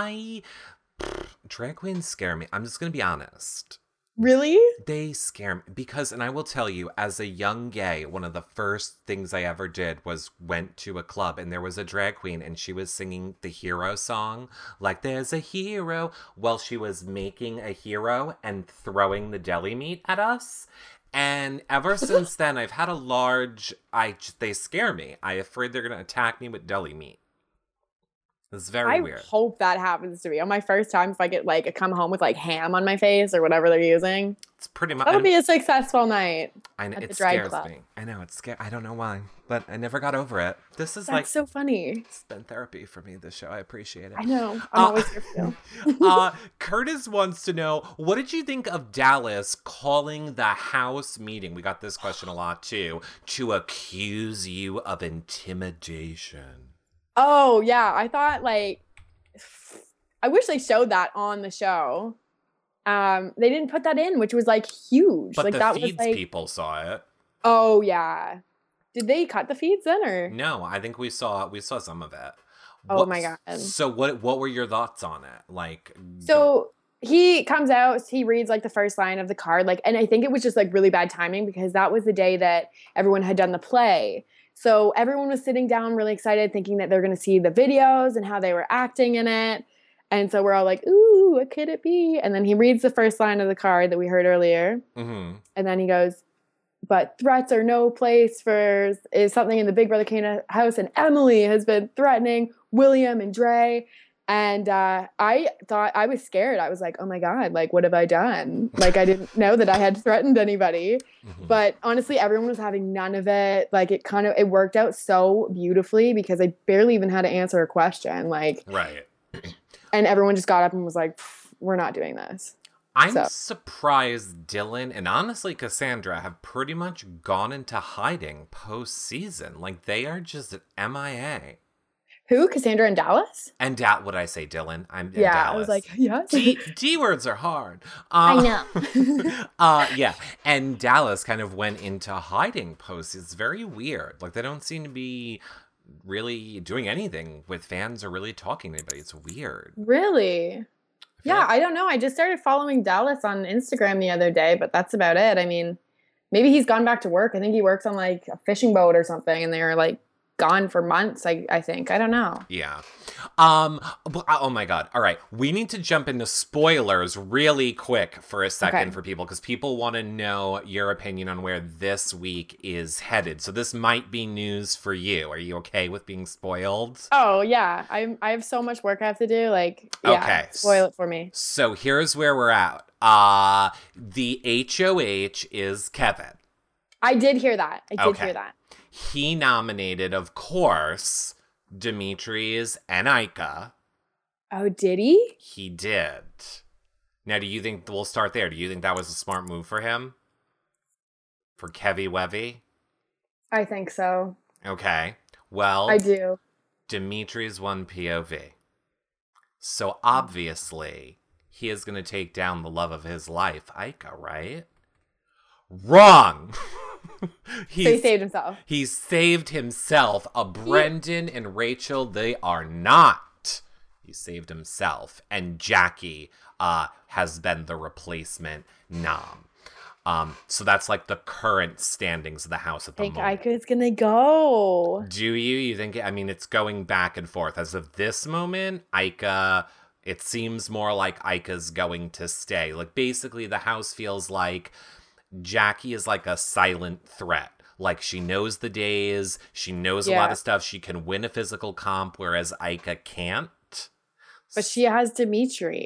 Drag queens scare me. I'm just gonna be honest. Really? They scare me because, and I will tell you, as a young gay, one of the first things I ever did was went to a club and there was a drag queen and she was singing the hero song, like "There's a hero," while she was making a hero and throwing the deli meat at us. And ever since then, I've had a large. They scare me. I'm afraid they're gonna attack me with deli meat. It's very I weird. hope that happens to me on my first time. If I get like come home with like ham on my face or whatever they're using, It's pretty much. that'll be a successful night I know, at it the drag scares club. me. I know it's scary. I don't know why, but I never got over it. This is That's so funny. it's been therapy for me. This show, I appreciate it. I know. I'm always here for you. Curtis wants to know, what did you think of Dallas calling the house meeting? We got this question a lot too. To accuse you of intimidation. Oh yeah, I thought like I wish they showed that on the show. They didn't put that in, which was like huge. But like the that feeds was like, people saw it. oh yeah. Did they cut the feeds then or? No, I think we saw some of it. Oh my god. So what were your thoughts on it? Like, So he comes out, he reads like the first line of the card, like, and I think it was just like really bad timing because that was the day that everyone had done the play. So everyone was sitting down really excited, thinking that they're going to see the videos and how they were acting in it. And so we're all like, ooh, what could it be? And then he reads the first line of the card that we heard earlier. mm-hmm. And then he goes, but threats are no place for is something in the Big Brother Kane house. And Emily has been threatening William and Dre. And I thought I was scared. I was like, oh my God, like, what have I done? Like, I didn't know that I had threatened anybody. Mm-hmm. But honestly, everyone was having none of it. Like, it worked out so beautifully because I barely even had to answer a question. Like, Right. and everyone just got up and was like, we're not doing this. I'm surprised Dylan and honestly Cassandra have pretty much gone into hiding post-season. Like, they are just MIA. Who? Cassandra and Dallas? And what I say, Dylan? I'm in Yeah, Dallas. I was like, yes. D words are hard. I know. Yeah. And Dallas kind of went into hiding post. It's very weird. Like, they don't seem to be really doing anything with fans or really talking to anybody. It's weird. Really? Yeah, like- I don't know. I just started following Dallas on Instagram the other day, but that's about it. I mean, maybe he's gone back to work. I think he works on like a fishing boat or something, and they're like gone for months. I think. I don't know. Yeah. Oh my God. All right. We need to jump into spoilers really quick for a second for people because people want to know your opinion on where this week is headed. So this might be news for you. Are you okay with being spoiled? Oh yeah, I have so much work I have to do. Like, yeah, Okay. spoil it for me. So here's where we're at. The HOH is Kevin. I did hear that. I did hear that. He nominated, of course, Demetres and Ica. Oh, did he? He did. Now, do you think, we'll start there. Do you think that was a smart move for him? For Kevy Wevy? I think so. Okay. Well, I do. Demetres won POV. So obviously, he is going to take down the love of his life, Ica, right? Wrong! So he saved himself. He saved himself. Brendan and Rachel, they are not. He saved himself. And Jackie has been the replacement nom. So that's like the current standings of the house at the moment. I think Ica's gonna go. Do you? You think? I mean, it's going back and forth. As of this moment, Ica, it seems more like Ica's going to stay. Like, basically, the house feels like Jackie is like a silent threat. Like, she knows the days, she knows a lot of stuff, she can win a physical comp, whereas Ica can't. But she has Dimitri.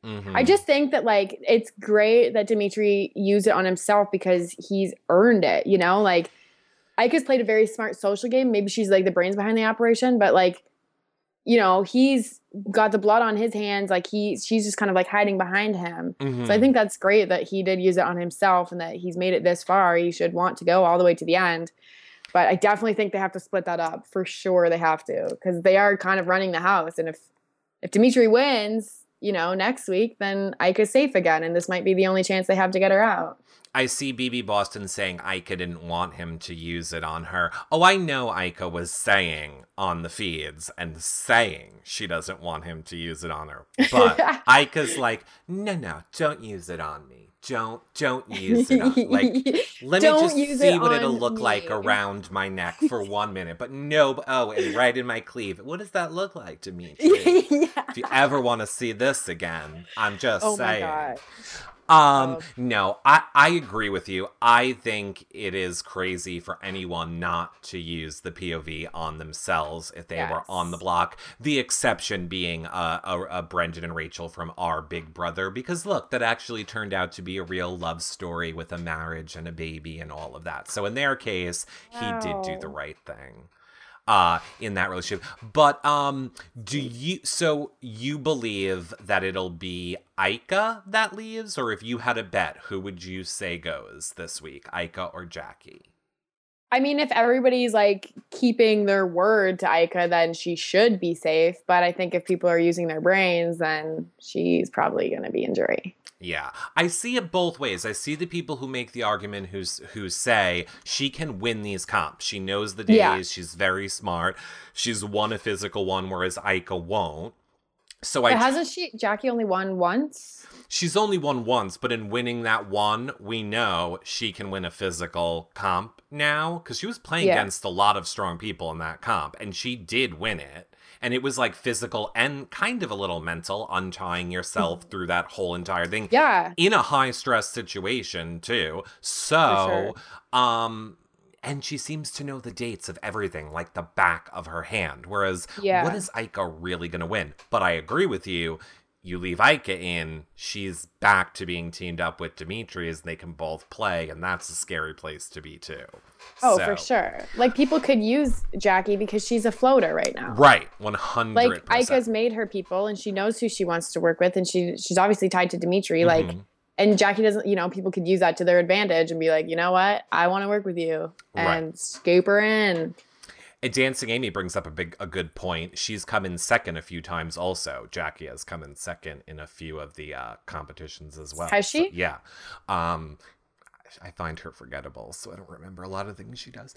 Mm-hmm. I just think that like it's great that Dimitri used it on himself because he's earned it, you know? Like Ika's played a very smart social game. Maybe she's like the brains behind the operation, but like, you know, he's got the blood on his hands. Like she's just kind of like hiding behind him. Mm-hmm. So I think that's great that he did use it on himself and that he's made it this far. He should want to go all the way to the end. But I definitely think they have to split that up. For sure they have to, because they are kind of running the house. And if Dimitri wins, you know, next week, then Ika's safe again. And this might be the only chance they have to get her out. I see BB Boston saying Ika didn't want him to use it on her. Oh, I know Ika was saying on the feeds and saying she doesn't want him to use it on her. But Ika's like, no, don't use it on me. Don't use it on like let me just see what it'll look like around my neck for 1 minute. But no, and right in my cleave. What does that look like to me? Yeah. If you ever want to see this again, I'm just saying. My God. No, I agree with you. I think it is crazy for anyone not to use the POV on themselves if they were on the block. The exception being a Brendan and Rachel from Our Big Brother, because look, that actually turned out to be a real love story with a marriage and a baby and all of that. So in their case, he did do the right thing. In that relationship. But so you believe that it'll be Ika that leaves, or if you had a bet, who would you say goes this week, Ika or Jackie? I mean, if everybody's like keeping their word to Ika, then she should be safe. But I think if people are using their brains, then she's probably going to be in jury. Yeah, I see it both ways. I see the people who make the argument who say she can win these comps. She knows the days. Yeah. She's very smart. She's won a physical one, whereas Ika won't. So hasn't Jackie only won once? She's only won once, but in winning that one, we know she can win a physical comp now because she was playing against a lot of strong people in that comp, and she did win it. And it was like physical and kind of a little mental, untying yourself through that whole entire thing. Yeah. In a high stress situation too. So, and she seems to know the dates of everything like the back of her hand. Whereas, what is Ika really going to win? But I agree with you. You leave Ika in, she's back to being teamed up with Dimitri as they can both play, and that's a scary place to be too. Oh, for sure. Like, people could use Jackie because she's a floater right now. Right, 100%. Like, Ika's made her people, and she knows who she wants to work with, and she's obviously tied to Dimitri. Mm-hmm. Like, and Jackie doesn't, you know, people could use that to their advantage and be like, you know what? I want to work with you. And scoop her in. Dancing Amy brings up a good point. She's come in second a few times also. Jackie has come in second in a few of the competitions as well. Has she? So, yeah. I find her forgettable, so I don't remember a lot of things she does.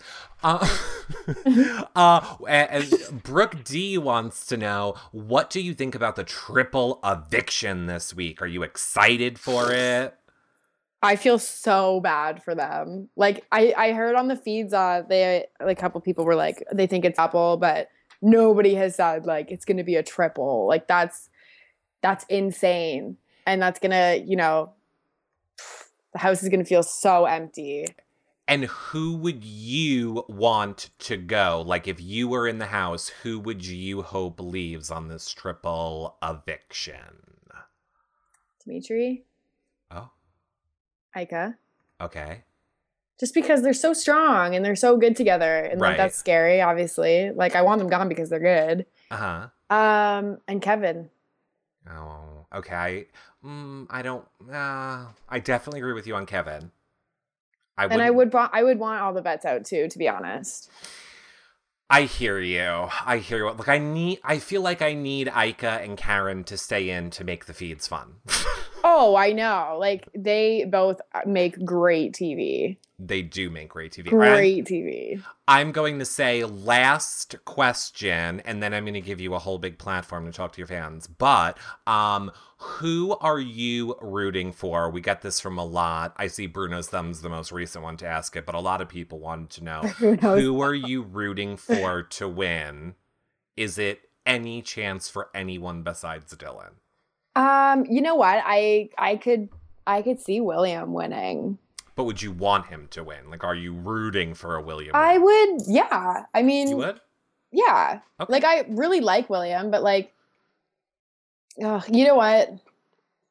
And Brooke D wants to know, what do you think about the triple eviction this week? Are you excited for it? I feel so bad for them. Like I heard on the feeds, a couple people were like, they think it's double, but nobody has said like it's going to be a triple. Like that's insane, and that's gonna, you know, the house is gonna feel so empty. And who would you want to go? Like, if you were in the house, who would you hope leaves on this triple eviction? Dimitri. Oh. Ika. Okay. Just because they're so strong and they're so good together, and like that's scary, obviously. Like, I want them gone because they're good. And Kevin. Oh, okay. I don't. I definitely agree with you on Kevin. I would want all the vets out too, to be honest. I hear you. Look, I feel like I need Ika and Karen to stay in to make the feeds fun. Oh, I know. Like, they both make great TV. They do make great TV. Great TV. I'm going to say last question, and then I'm going to give you a whole big platform to talk to your fans. But who are you rooting for? We get this from a lot. I see Bruno's Thumb's the most recent one to ask it, but a lot of people wanted to know, who are you rooting for to win? Is it any chance for anyone besides Dylan? You know what? I could see William winning. But would you want him to win? Like, are you rooting for a William win? I would, yeah. I mean... You would? Yeah. Okay. Like, I really like William, but like... you know what?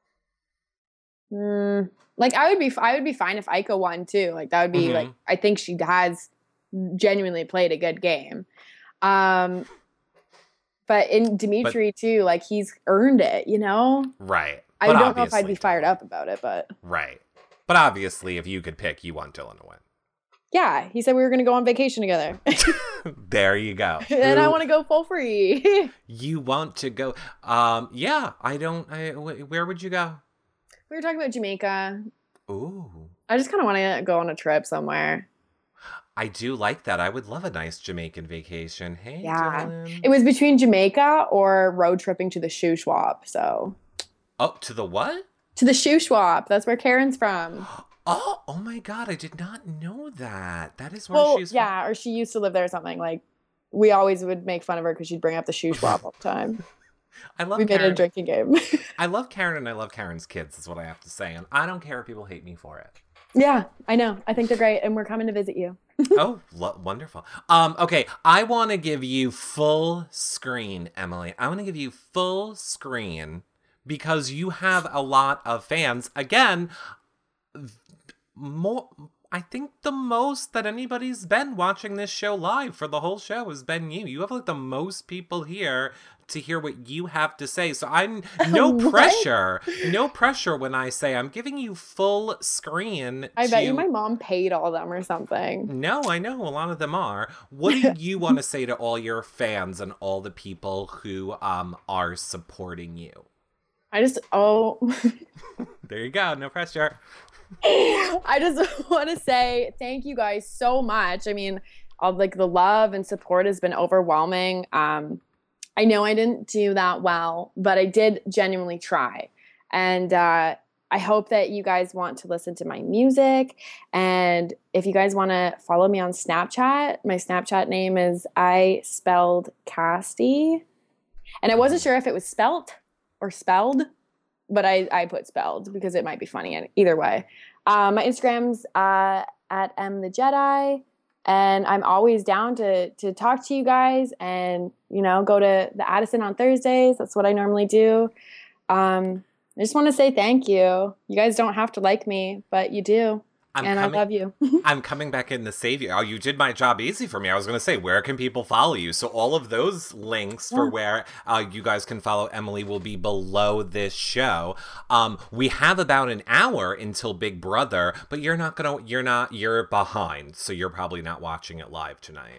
Like I would be fine if Aika won too. Like that would be like, I think she has genuinely played a good game. But in Dimitri too, like he's earned it, you know? Right. I don't know if I'd be fired up about it, but. Right. But obviously, if you could pick, you want Dylan to win. Yeah, he said we were going to go on vacation together. There you go. And I want to go full free. You want to go? Yeah, where would you go? We were talking about Jamaica. Ooh. I just kind of want to go on a trip somewhere. I do like that. I would love a nice Jamaican vacation. Hey, yeah. Dylan. It was between Jamaica or road tripping to the shoe swap, so. Oh, to the what? To the shoe swap. That's where Karen's from. Oh my God. I did not know that. That is where she's from. Yeah, or she used to live there or something. Like, we always would make fun of her because she'd bring up the shoe swap all the time. I love We Karen. made it a drinking game. I love Karen and I love Karen's kids is what I have to say. And I don't care if people hate me for it. Yeah, I know. I think they're great. And we're coming to visit you. Oh, wonderful. Okay, I want to give you full screen, Emily. I want to give you full screen because you have a lot of fans. Again, more. I think the most that anybody's been watching this show live for the whole show has been you. You have like the most people here to hear what you have to say. So I'm no pressure when I say I'm giving you full screen. I bet you my mom paid all of them or something. No, I know a lot of them are. What do you want to say to all your fans and all the people who are supporting you? There you go. No pressure. I just want to say thank you guys so much. I mean, like the love and support has been overwhelming. I know I didn't do that well, but I did genuinely try. And I hope that you guys want to listen to my music. And if you guys want to follow me on Snapchat, my Snapchat name is I spelled Casty. And I wasn't sure if it was spelt or spelled, but I put spelled because it might be funny either way. My Instagram's at mthejedi, and I'm always down to talk to you guys and, you know, go to the Addison on Thursdays. That's what I normally do. I just want to say thank you. You guys don't have to like me, but you do. I love you. I'm coming back in to save you. Oh, you did my job easy for me. I was going to say, where can people follow you? So all of those links for where you guys can follow Emily will be below this show. We have about an hour until Big Brother, but you're behind. So you're probably not watching it live tonight.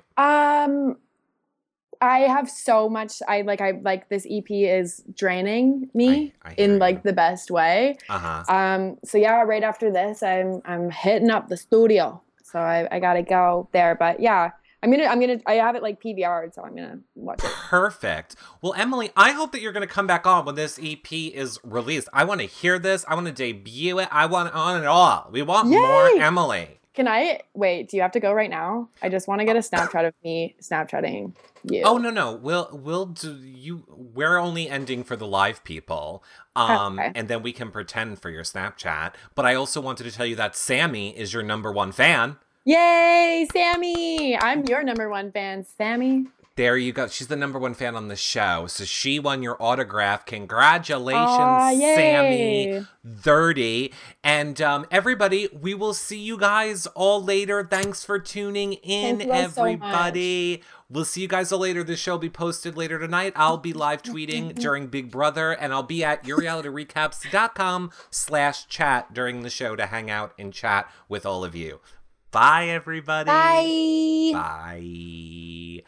I have so much. I like this EP is draining me in like the best way. So yeah, right after this, I'm hitting up the studio. So I gotta go there. But yeah, I have it like PVR'd, so I'm gonna watch it. Perfect. Well, Emily, I hope that you're gonna come back on when this EP is released. I want to hear this. I want to debut it. I want on it all. We want more Emily. Can I wait? Do you have to go right now? I just want to get a Snapchat of me Snapchatting you. Oh no, we'll do you. We're only ending for the live people, Okay. And then we can pretend for your Snapchat. But I also wanted to tell you that Sammy is your #1 fan. Yay, Sammy! I'm your #1 fan, Sammy. There you go. She's the #1 fan on the show. So she won your autograph. Congratulations, Sammy 30. And everybody, we will see you guys all later. Thanks for tuning in, everybody. We'll see you guys all later. This show will be posted later tonight. I'll be live tweeting during Big Brother, and I'll be at yourrealityrecaps.com/chat during the show to hang out and chat with all of you. Bye, everybody. Bye. Bye.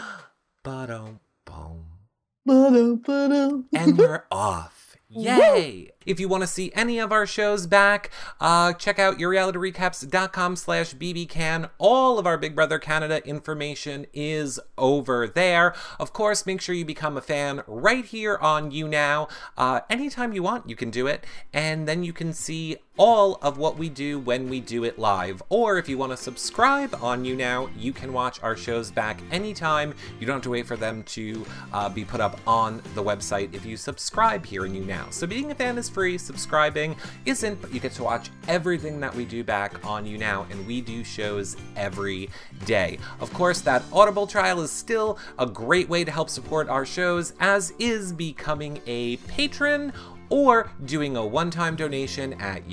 And we're off. Yay! If you want to see any of our shows back, check out yourrealityrecaps.com/bbcan. All of our Big Brother Canada information is over there. Of course, make sure you become a fan right here on YouNow. Anytime you want, you can do it. And then you can see all of what we do when we do it live. Or if you want to subscribe on YouNow, you can watch our shows back anytime. You don't have to wait for them to be put up on the website if you subscribe here in YouNow. So being a fan is free, subscribing isn't, but you get to watch everything that we do back on YouNow, and we do shows every day. Of course, that Audible trial is still a great way to help support our shows, as is becoming a patron or doing a one-time donation at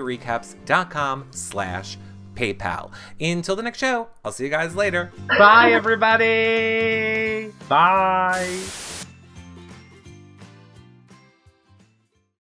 yourrealityrecaps.com/PayPal. Until the next show, I'll see you guys later. Bye, everybody. Bye.